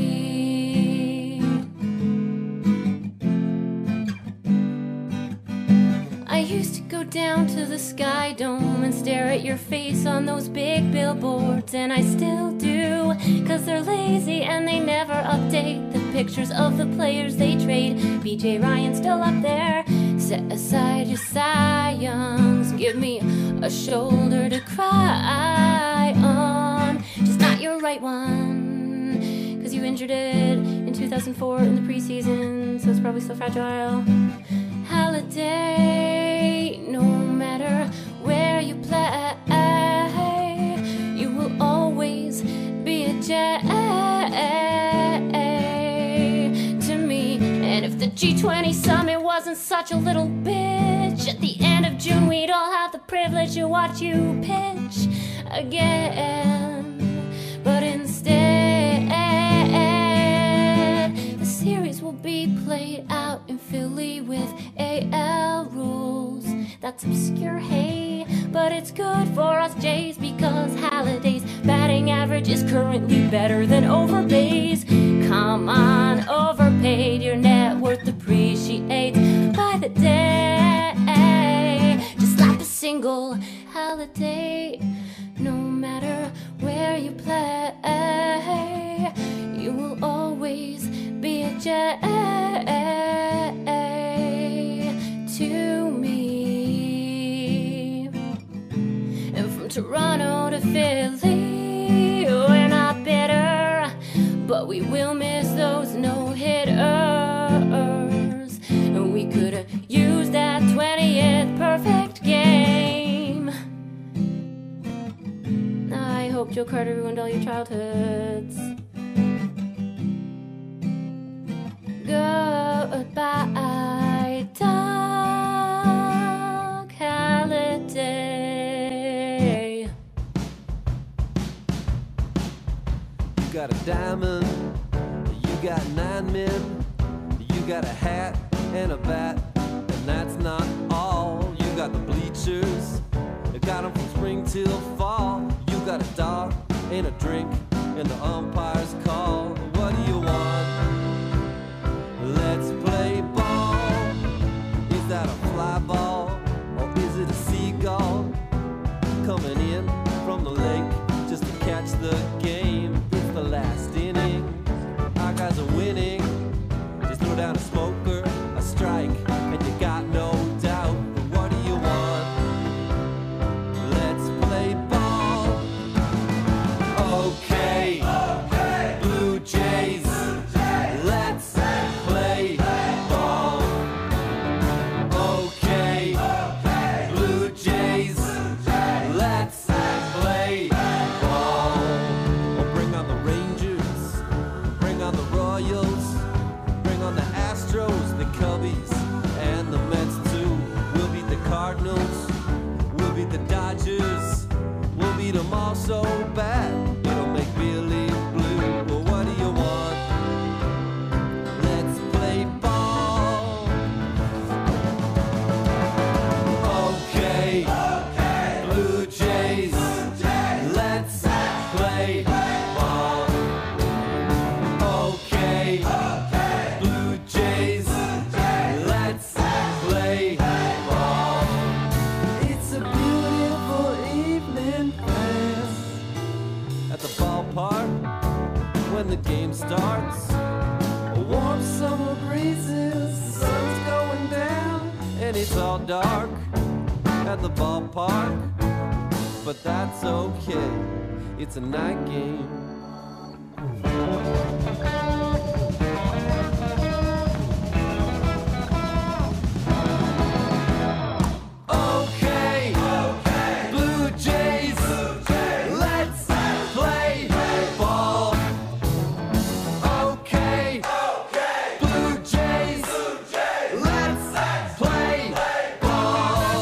I used to go down to the Sky Dome and stare at your face on those big billboards, and I still do, cause they're lazy and they never update the pictures of the players they trade. BJ Ryan's still up there. Set aside your scions, give me a shoulder to cry on, just not your right one, cause you injured it in 2004 in the preseason, so it's probably still fragile. Holiday, no matter where you play, you will always be a J to me. And if the G20 summit wasn't such a little bitch, at the end of June we'd all have the privilege to watch you pitch again. But instead, the series will be played out in Philly with AL rules. That's obscure, hey, but it's good for us Jays, because Holiday's batting average is currently better than Overbay's. Come on, overpaid, your net worth appreciates by the day. Just slap a single, Holiday, no matter where you play, you will always be a J to me. And from Toronto to Philly, we're not bitter, but we will miss those no-hitters. And we could have used that 20th perfect game. I hope Joe Carter ruined all your childhoods. Goodbye, Doc Holiday. You got a diamond, you got 9 men, you got a hat and a bat, and that's not all. You got the bleachers, you got them from spring till fall. You got a dog and a drink and the umpire's call. What do you want? Let's play ball. Is that a fly ball or is it a seagull coming in from the lake just to catch the game? It's the last inning, our guys are winning. Just throw down a smoker, a strike, and you got no doubt. But what do you want? Let's play ball. Okay, Blue Jays, let's play ball. Okay, Blue Jays, let's play ball. Oh, bring on the Rangers, bring on the Royals, bring on the Astros, the Cubbies, and the Mets too. We'll beat the Cardinals, we'll beat the Dodgers, we'll beat them all so bad it'll make believe blue. Well, what do you want? Let's play ball. Okay, Blue Jays, let's play ball. Okay, Blue Jays, let's play ball. It's a beautiful evening, friends, at the ballpark when the game starts. Warm summer breezes, sun's going down, at the ballpark, but that's okay. It's a night game. Okay, Blue Jays, let's play ball. Okay, Blue Jays, let's play ball.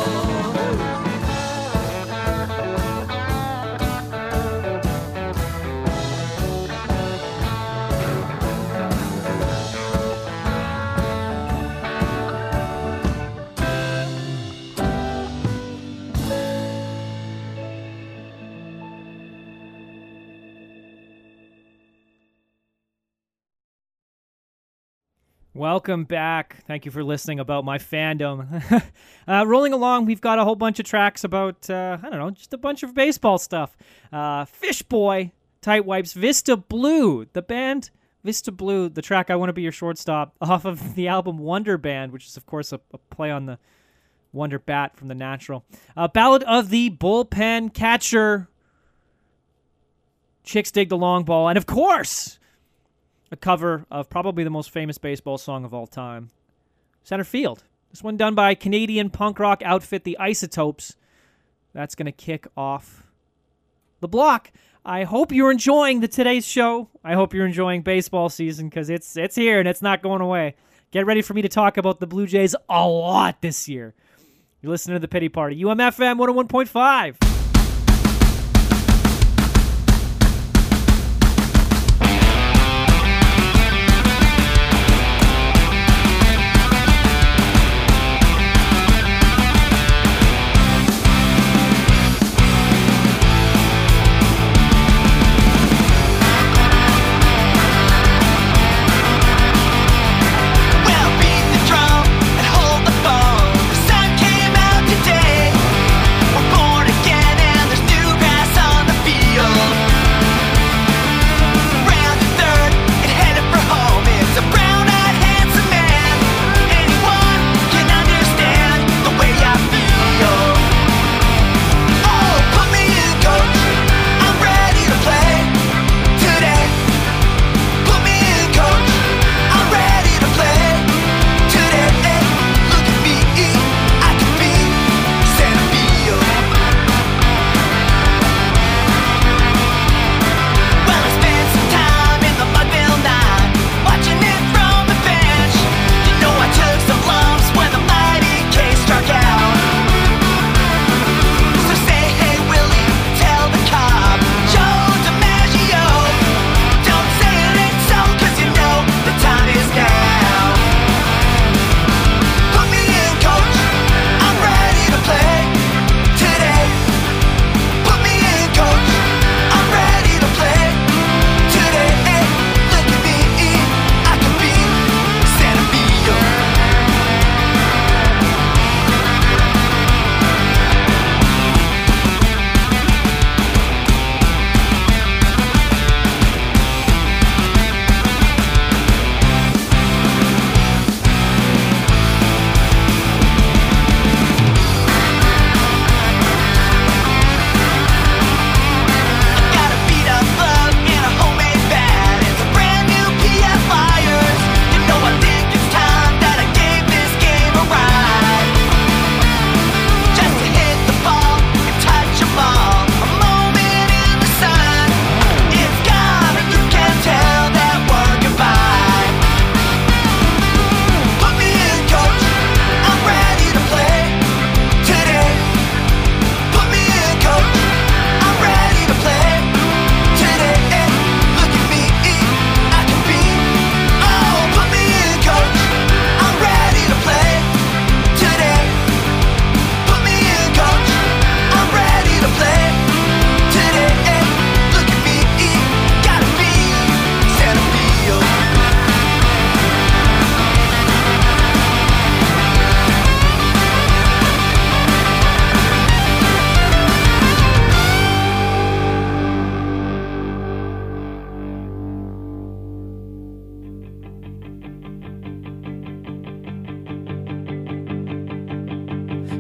Welcome back. Thank you for listening about my fandom. Rolling along, we've got a whole bunch of tracks about, I don't know, just a bunch of baseball stuff. Fish Boy, Tight Wipes, Vista Blue, the band Vista Blue, the track I Want to Be Your Shortstop, off of the album Wonder Band, which is, of course, a play on the Wonder Bat from The Natural. Ballad of the Bullpen Catcher, Chicks Dig the Long Ball, and, of course, a cover of probably the most famous baseball song of all time, Center Field. This one done by Canadian punk rock outfit The Isotopes. That's going to kick off the block. I hope you're enjoying today's show. I hope you're enjoying baseball season because it's here and it's not going away. Get ready for me to talk about the Blue Jays a lot this year. You're listening to The Pity Party. UMFM 101.5. Hold the phone. The sun came out today. We're born again.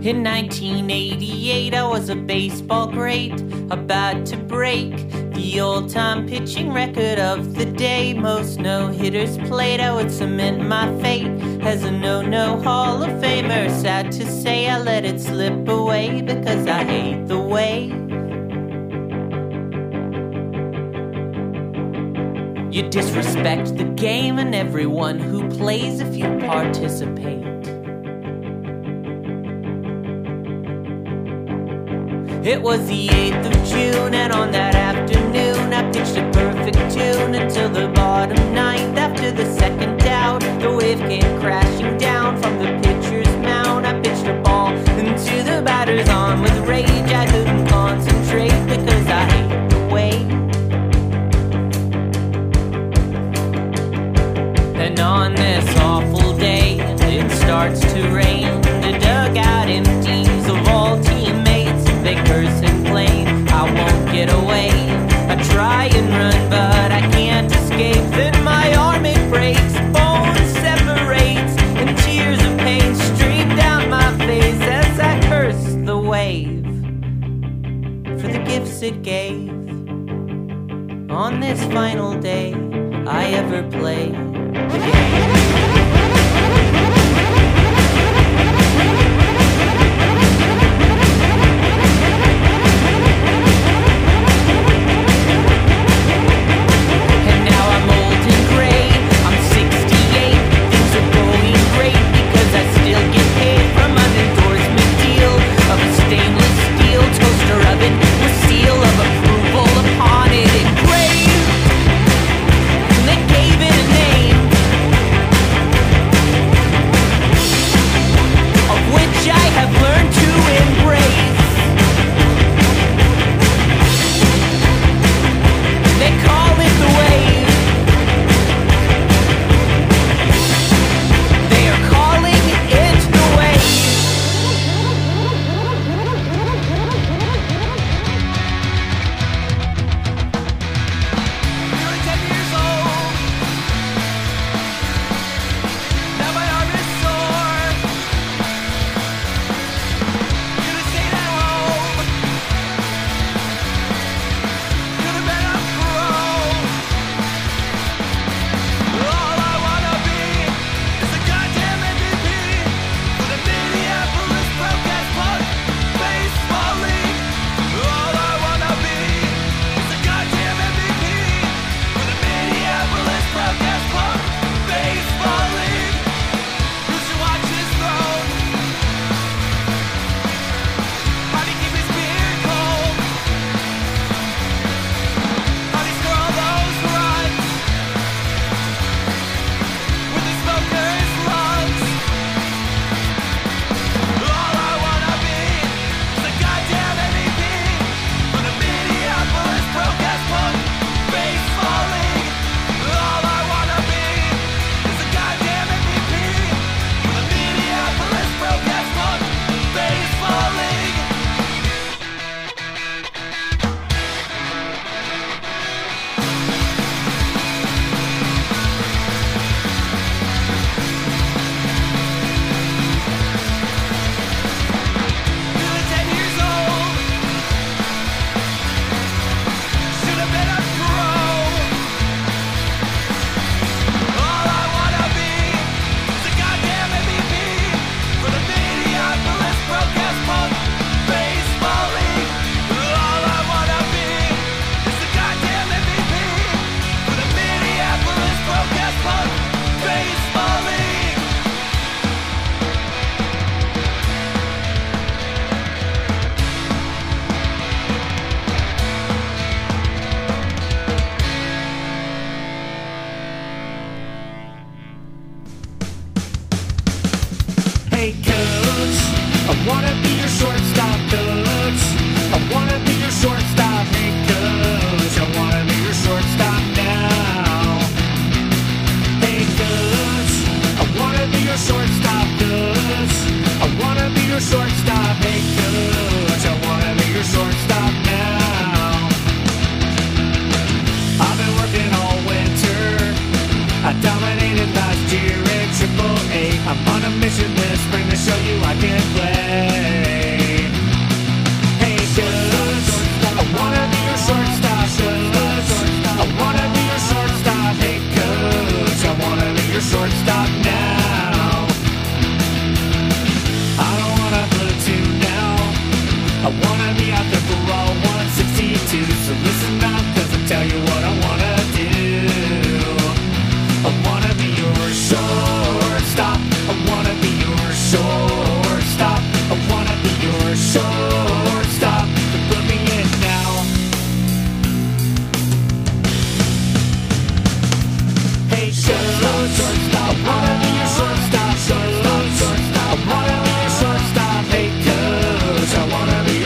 In 1988, I was a baseball great, about to break the all-time pitching record of the day. Most no-hitters played, I would cement my fate as a no-no Hall of Famer. Sad to say, I let it slip away because I hate the way you disrespect the game and everyone who plays if you participate. It was the 8th of June, and on that afternoon I pitched a perfect tune until the bottom ninth. After the second out, the wave came crashing down from the pitcher's mound. I pitched a ball into the batter's arm with rage. I couldn't concentrate because I hate the way. And on this awful day, it starts to rain. The dugout empties of all teammates. They curse and blame, I won't get away. I try and run, but I can't escape. Then my arm, it breaks, bone separates, and tears of pain stream down my face as I curse the wave for the gifts it gave. On this final day, I ever play the game.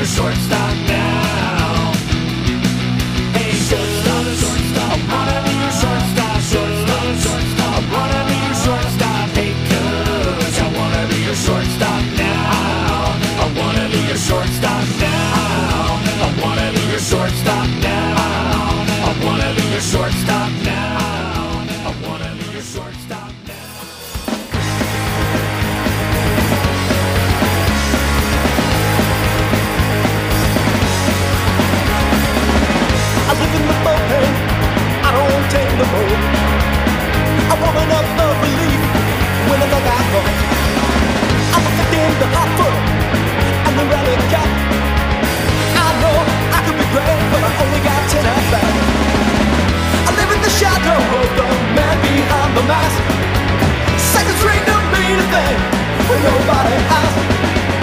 shortstop now. Hey, shortstop, shortstop, I wanna be your shortstop, shortstop, shortstop, I wanna be your shortstop. Hey, coach, I wanna be your shortstop now. I wanna be your shortstop now. I wanna be your shortstop now. I wanna be your shortstop now. I wanna be your shortstop now. I live in the bullpen, I don't take no more. I warm enough of relief when I got that ball. I'm a in the hot foot and the rally cap. I know I could be great, but I only got 10 at bat. I live in the shadow of the man behind the mask. Second string don't mean a thing when nobody asks.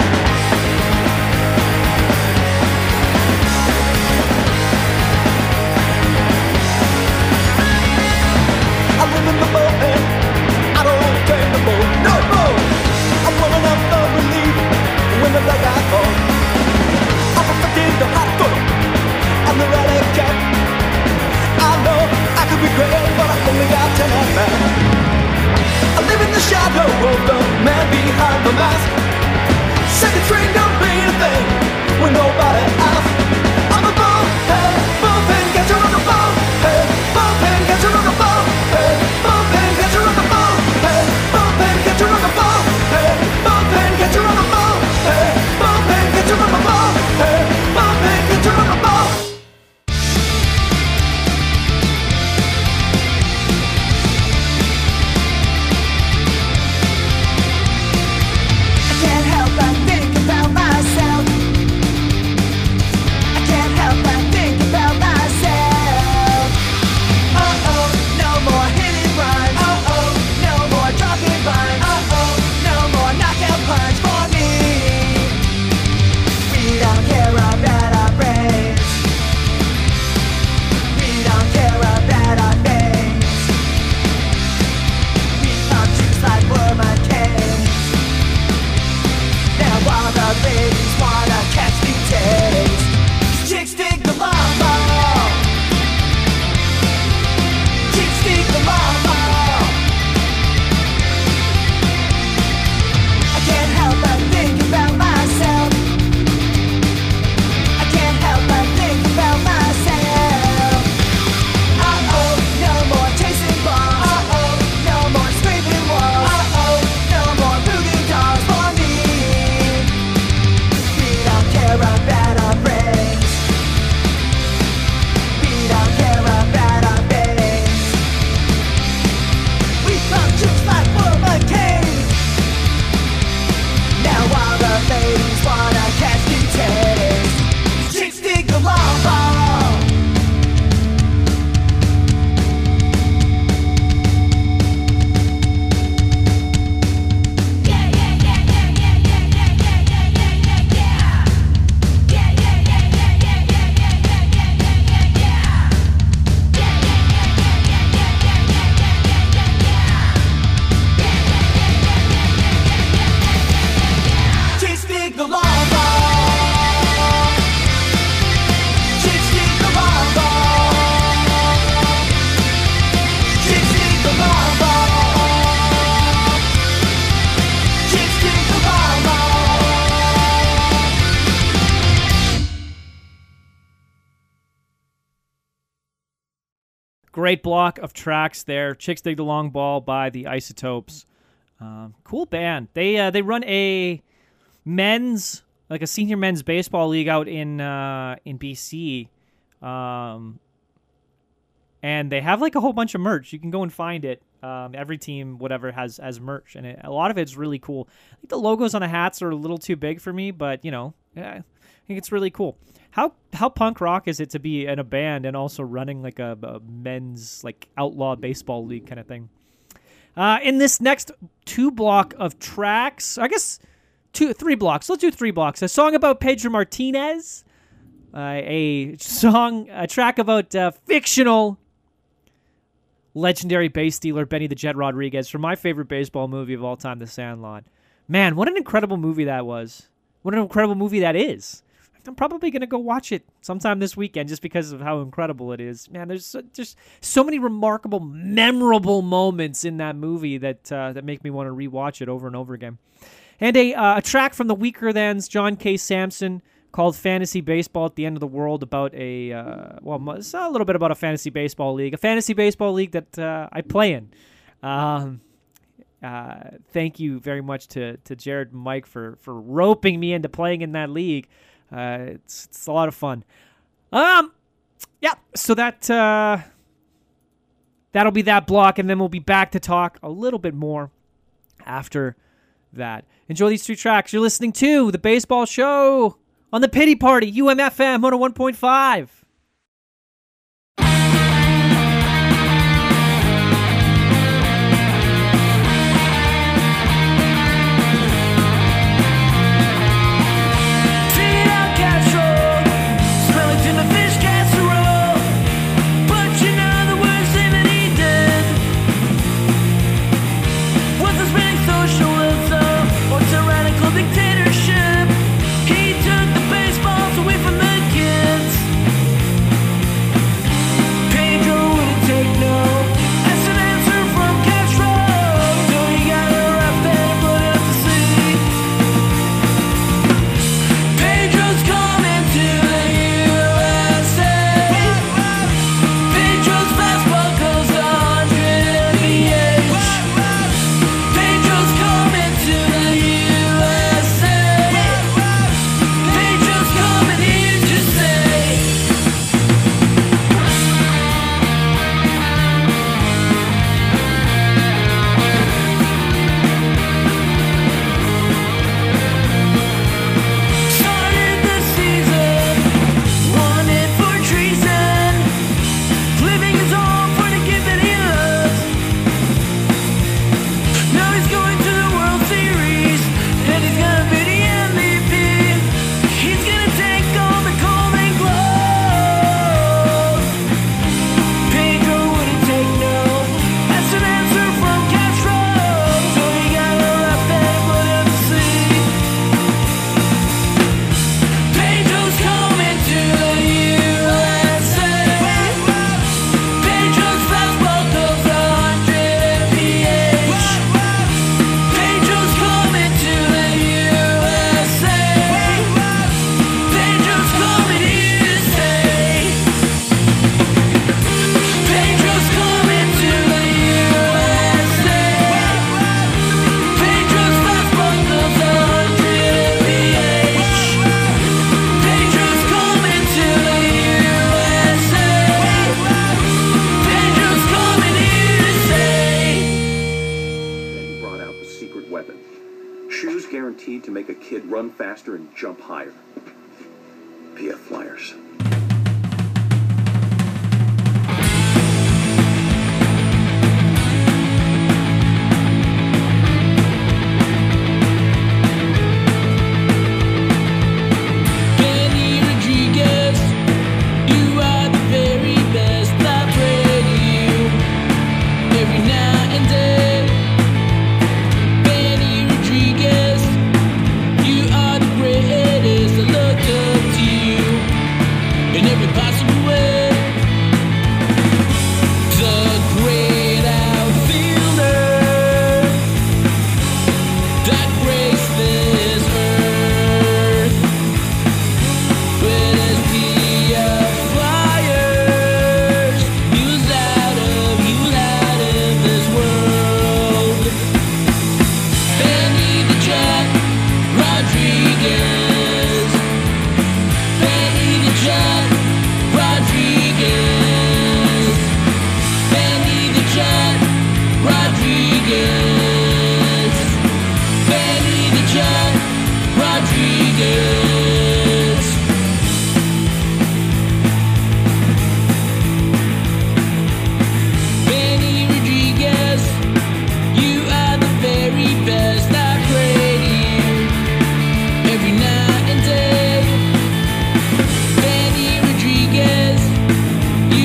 I live in the bullpen, I don't take no more, no more. I'm warming up the relief when the dugout falls. I'm perfecting the hot foot and the rally cap. I know I could be great, but I only got 10 at bat. I live in the shadow of the man behind the mask. Second string don't mean a thing when nobody asks. I'm a bullpen catcher on the bullpen, bullpen catcher on the bullpen, bullpen catcher on the bullpen, bullpen catcher on the bullpen, bullpen catcher on the bullpen, bullpen catcher on the bullpen, bullpen catcher on the bullpen. I can't help but think about myself. I can't help but think about myself. Uh-oh, no more hitting runs. Uh-oh, no more dropping bunts. Uh-oh, no more knockout punch for me. We don't care about our brains. We don't care about our names. We pump juice like Wormer canes. Now all the ladies wanna catch me taste. Chicks dig the long ball. Chicks dig the long ball. I can't help but think about myself. I can't help but think about myself. Uh-oh, no more chasing balls. Uh-oh, no more scraping walls. Uh-oh, no more voodoo dolls for me. We don't care about our brains. We don't care about our veins. We pump juice like Wilma Cane. Now all the ladies wanna catch me taste. Chicks dig the long ball. Chicks dig the long ball. Chicks dig the long ball. Chicks dig the long ball. Chicks dig the long ball. Great block of tracks there. Chicks Dig the Long Ball by the Isotopes. Cool band. They run a men's, like a senior men's baseball league out in BC. And they have like a whole bunch of merch. You can go and find it. Every team, whatever, has merch, and a lot of it's really cool. I think the logos on the hats are a little too big for me, but I think it's really cool. How punk rock is it to be in a band and also running like a men's like outlaw baseball league kind of thing? In this next 2 block of tracks, I guess 3 blocks. Let's do 3 blocks. A song about Pedro Martinez, a track about fictional legendary bass dealer Benny the Jet Rodriguez from my favorite baseball movie of all time, The Sandlot. Man, what an incredible movie that was. What an incredible movie that is. I'm probably going to go watch it sometime this weekend just because of how incredible it is. Man, there's just so many remarkable, memorable moments in that movie that make me want to rewatch it over and over again. And a track from the Weaker Thans, John K. Samson, called Fantasy Baseball at the End of the World, about it's a little bit about a fantasy baseball league that I play in. Thank you very much to Jared and Mike for roping me into playing in that league. It's a lot of fun. Yeah, so that'll be that block, and then we'll be back to talk a little bit more after that. Enjoy these 2 tracks. You're listening to The Baseball Show on the Pity Party, UMFM 101.5. Dictatorship. He took the baseballs away from the guaranteed to make a kid run faster and jump higher. PF Flyers. You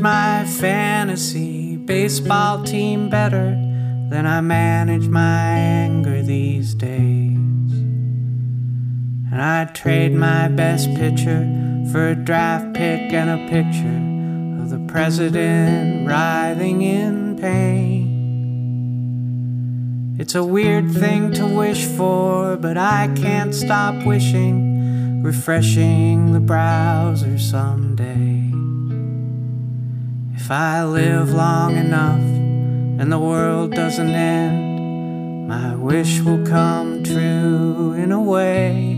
my fantasy baseball team better than I manage my anger these days. And I'd trade my best pitcher for a draft pick and a picture of the president writhing in pain. It's a weird thing to wish for, but I can't stop wishing, refreshing the browser someday. If I live long enough and the world doesn't end, my wish will come true in a way.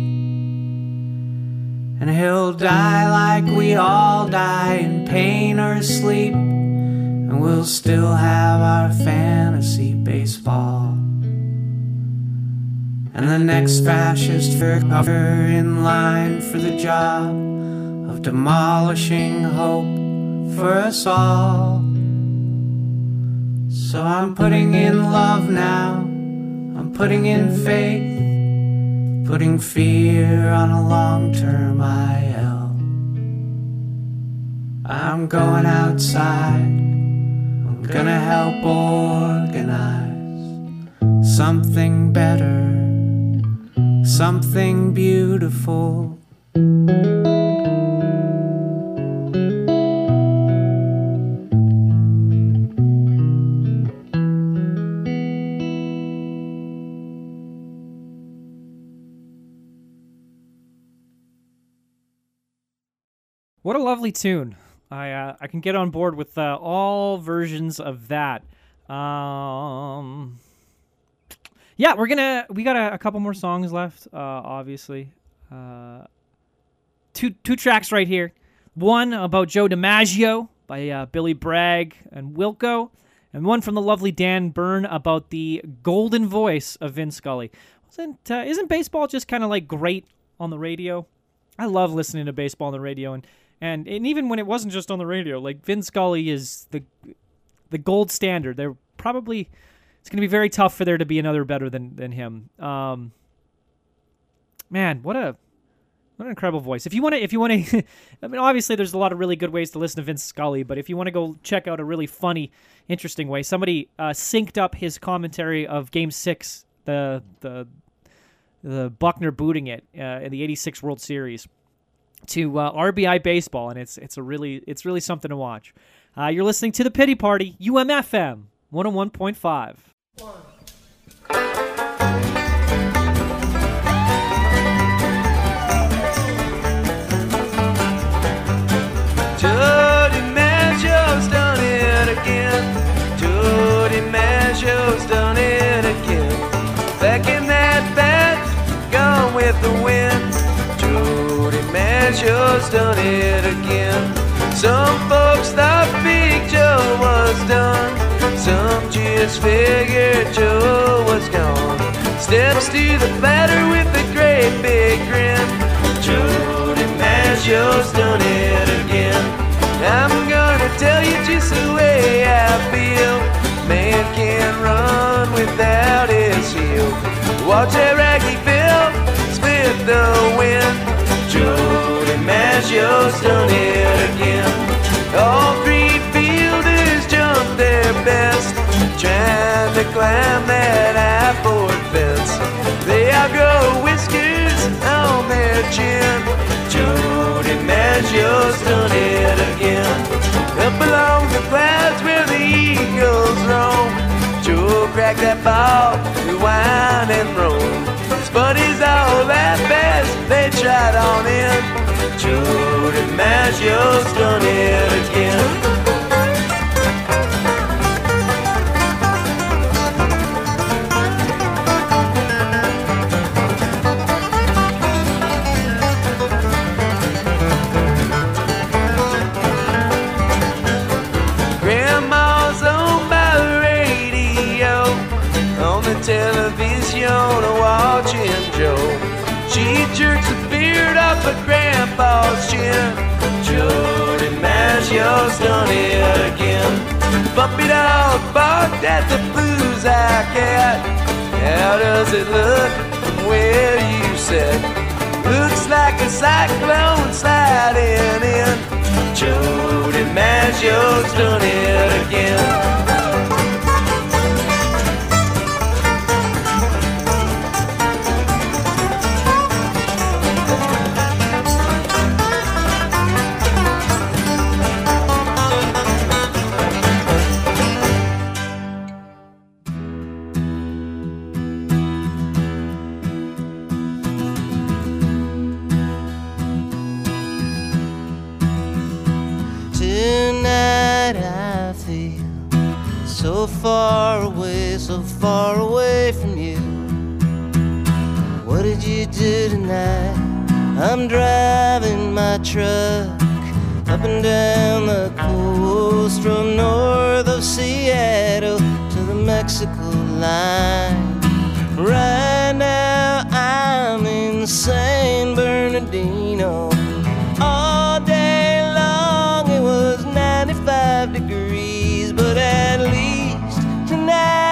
And he'll die like we all die, in pain or sleep, and we'll still have our fantasy baseball. And the next fascist fucker in line for the job of demolishing hope for us all. So I'm putting in love now, I'm putting in faith, putting fear on a long-term IL. I'm going outside, I'm gonna help organize something better, something beautiful. What a lovely tune. I can get on board with all versions of that. Yeah, we got a couple more songs left, obviously. Two tracks right here. One about Joe DiMaggio by Billy Bragg and Wilco, and one from the lovely Dan Byrne about the golden voice of Vin Scully. Isn't baseball just kind of like great on the radio? I love listening to baseball on the radio, and even when it wasn't just on the radio, like Vin Scully is the gold standard. They're probably... It's going to be very tough for there to be another better than him. Man, what an incredible voice. If you want to, I mean, obviously there's a lot of really good ways to listen to Vince Scully, but if you want to go check out a really funny, interesting way, somebody synced up his commentary of Game 6, the Buckner booting it in the '86 World Series, to RBI Baseball, and it's really something to watch. You're listening to The Pity Party, UMFM 101.5. Joe DiMaggio's done it again. Joe DiMaggio's done it again. Back in that bat, gone with the wind. Joe DiMaggio's done it again. Some folks thought Big Joe was done. Some just figured Joe was gone. Steps to the batter with a great big grin. Joe DiMaggio's done it again. I'm gonna tell you just the way I feel. Man can't run without his heel. Watch that raggy Bill split the wind. Joe DiMaggio's done it again. All three fielders jumped their best, trying to climb that high-board fence. They outgrow whiskers on their chin. Joe DiMaggio's done it again. Up along the clouds where the eagles roam, Joe cracked that ball, rewind and roll. His buddies all laughed as they tried on in. Joe DiMaggio's done it again. Television watching Joe. She jerks the beard off of Grandpa's chin. Joe DiMaggio's done it again. Puppy dog barked at the blues eye cat. How does it look from where you sit? Looks like a cyclone sliding in. Joe DiMaggio's done it again. So far away from you. What did you do tonight? I'm driving my truck up and down the coast from north of Seattle to the Mexico line. Right now I'm in San Bernardino. All day long it was 95 degrees, but at least tonight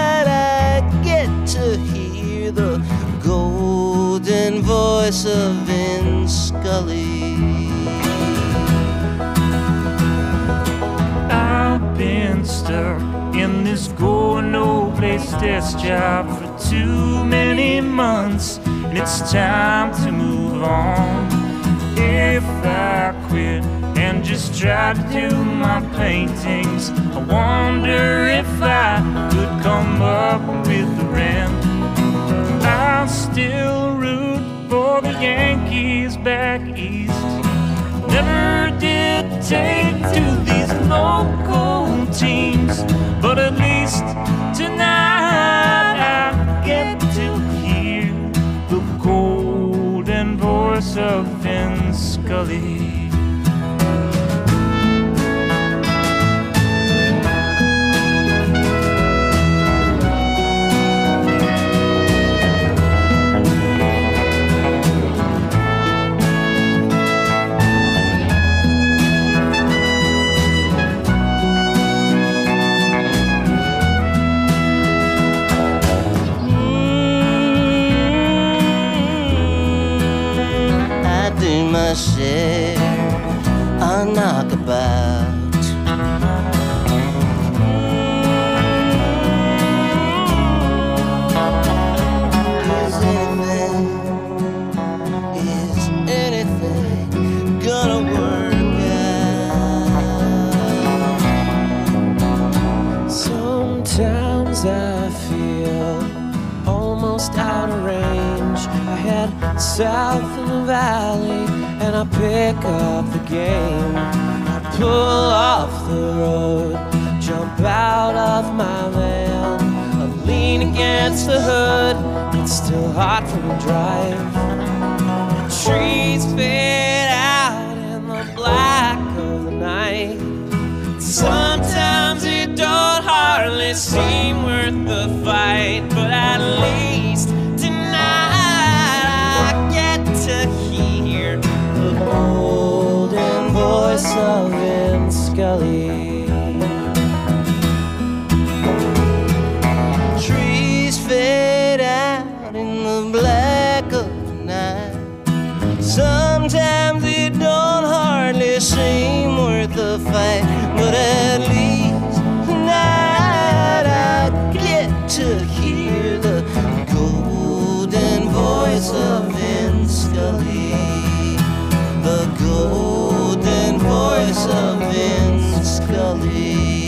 the golden voice of Vince Scully. I've been stuck in this going no place desk job for too many months, and it's time to move on. If I quit and just try to do my paintings, I wonder if I could come up with the rent. I'll still root for the Yankees back east. Never did take to these local teams, but at least tonight I get to hear the golden voice of Vince Scully. My share a knockabout. Is anything gonna work out? Sometimes I feel almost out of range. I head south in the valley and I pick up the game. I pull off the road, jump out of my van. I lean against the hood, it's still hot from the drive. The trees fade out in the black of the night. Sometimes it don't hardly seem worth the fight, but at least golden voice of Vince Scully. Trees fade out in the black of the night. Sometimes it don't hardly seem worth the fight, but at least tonight I get to hear the golden voice of Vince Scully. The golden voice of Vince Scully.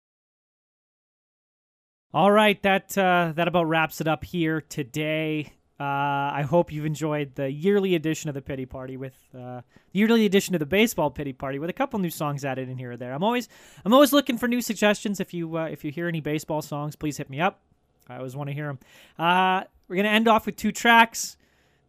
All right, that about wraps it up here today. I hope you've enjoyed the yearly edition of the Pity Party with the yearly edition of the Baseball Pity Party with a couple new songs added in here or there. I'm always looking for new suggestions. If you hear any baseball songs, please hit me up. I always want to hear them. We're gonna end off with two tracks.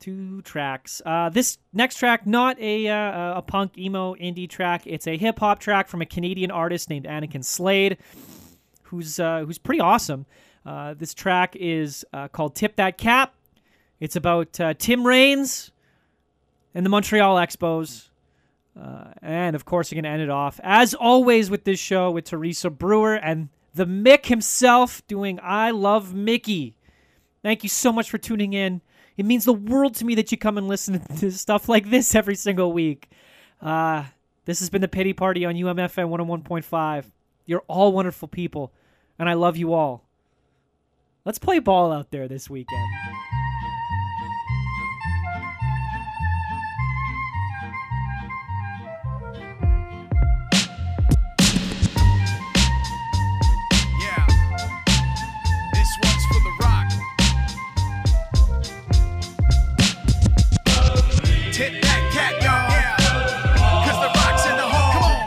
This next track, not a punk emo indie track. It's a hip hop track from a Canadian artist named Anakin Slade, who's pretty awesome. This track is called "Tip That Cap." It's about Tim Raines and the Montreal Expos. And, of course, you're going to end it off, as always with this show, with Teresa Brewer and the Mick himself doing I Love Mickey. Thank you so much for tuning in. It means the world to me that you come and listen to stuff like this every single week. This has been the Pity Party on UMFM 101.5. You're all wonderful people, and I love you all. Let's play ball out there this weekend. Tip that cap, y'all. Yeah. Cause the Rock's in the hall. Come on.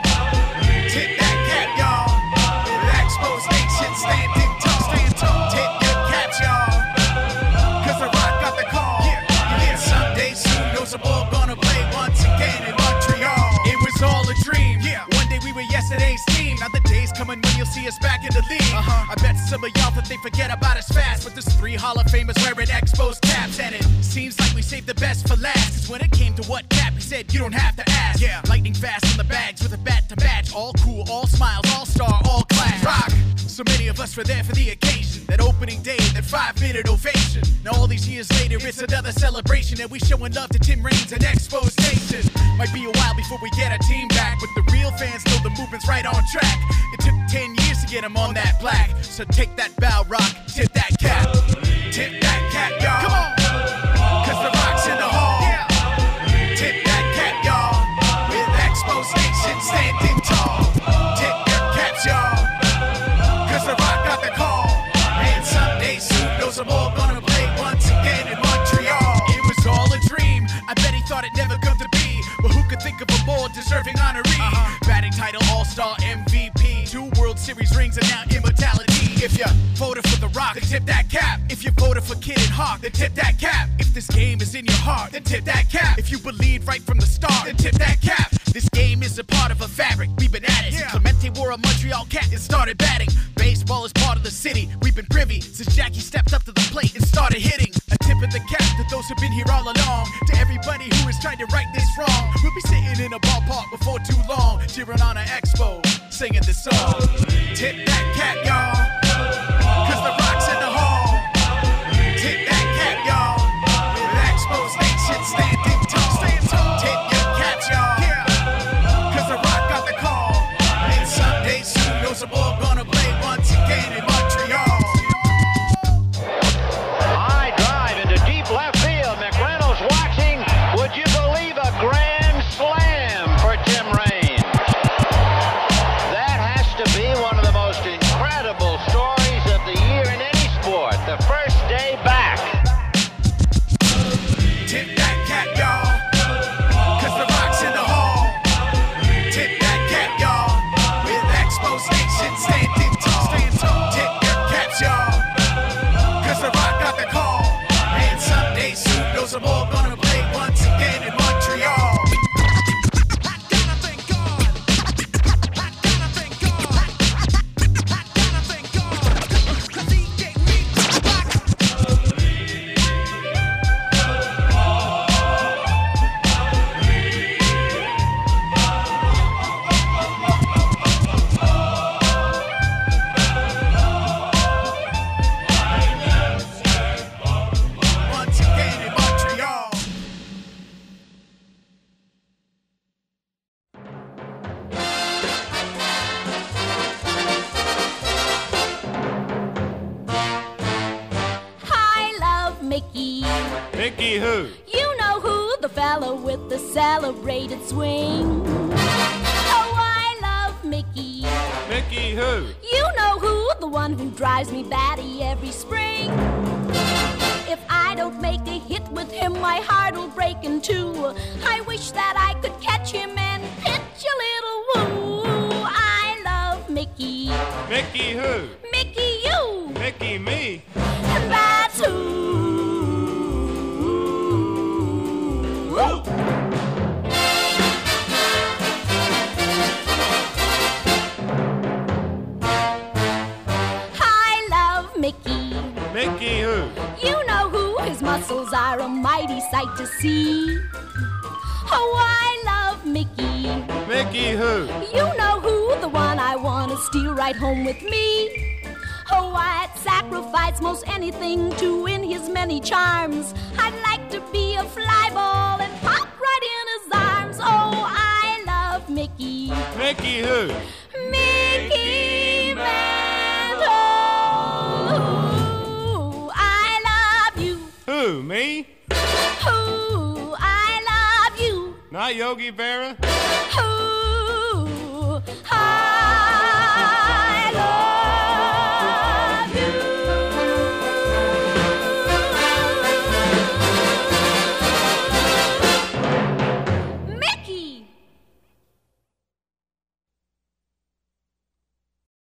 Tip that cap, y'all. The Expos Nation standing tall. Tip your caps, y'all. Cause the Rock got the call. Yeah. Someday soon, those are all gonna play once again in Montreal. It was all a dream. Yeah. One day we were yesterday's team. Now the day's coming when you'll see us back in the league. I bet some of y'all that they forget about us fast. But there's 3 Hall of Famers wearing Expos caps. And it seems like we saved the best for last. Cause when it came to what cap, he said you don't have to ask. Yeah. Lightning fast in the bags with a bat to match. All cool, all smiles, all star, all class. Rock. So many of us were there for the occasion. That opening day, that 5-minute ovation. Now all these years later, it's another celebration. And we showing love to Tim Raines and Expos Nation. Might be a while before we get our team back, but the real fans know the movement's right on track. It took 10 years to get them on that black. So take that bow, Rock, tip that cap. Tip that cap, y'all. Come on. Cause the Rock's in the hall. Yeah. Tip that cap, y'all. With Expos Nation standing tall. Tip your caps, y'all. Cause the Rock got the call. And someday soon, those are all gonna play once again in Montreal. It was all a dream. I bet he thought it never come to be. But who could think of a more deserving honoree? Batting title, All-Star, MVP. 2 World Series rings and now immortality. If you voted for the Rock, then tip that cap. If you voted for Kid and Hawk, then tip that cap. If this game is in your heart, then tip that cap. If you believe right from the start, then tip that cap. This game is a part of a fabric. We've been at it. Yeah. Clemente wore a Montreal cap and started batting. Baseball is part of the city. We've been privy since Jackie stepped up to the plate and started hitting. A tip of the cap to those who've been here all along. To everybody who is trying to right this wrong. We'll be sitting in a ballpark before too long, cheering on an Expo, singing this song. Tip that cap, y'all. Cause the Rock's in the hall. Tip that cap, y'all. With Expos Nation standing tall. Tip your caps, y'all. Cause the Rock got the call. And someday soon, those are all gonna play once again in Montreal. High drive into deep left field. McReynolds watching. Would you believe a grand slam for Tim Raines? That has to be one of the most incredible stories of the year in any sport. The first day back. Tip that cap, y'all. Cause the Rock's in the hall. Tip that cap, y'all. With Expos Nation standing tall. Tip your caps, y'all. Cause the Rock got the call. And someday soon, those are all gonna play once again in Montreal. Once again in Montreal. I love Mickey. Mickey who? You know who, the fellow with the celebrated swing. Oh, I love Mickey. Mickey who? You know who, the one who drives me batty every spring. If I don't make a hit with him, my heart'll break in two. I wish that I could catch him and pitch a little woo. I love Mickey. Mickey who? Mickey you. Mickey me. And that's who. Woo. I love Mickey. Mickey who? You know who, his muscles are a mighty sight to see. Oh, I love Mickey. Mickey who? You know who, the one I want to steal right home with me. Oh, I'd sacrifice most anything to win his many charms. I'd like to be a fly ball and pop right in his arms. Oh, I love Mickey. Mickey who? Mickey Mantle. Who, me? Who, I love you. Not Yogi Berra? Who,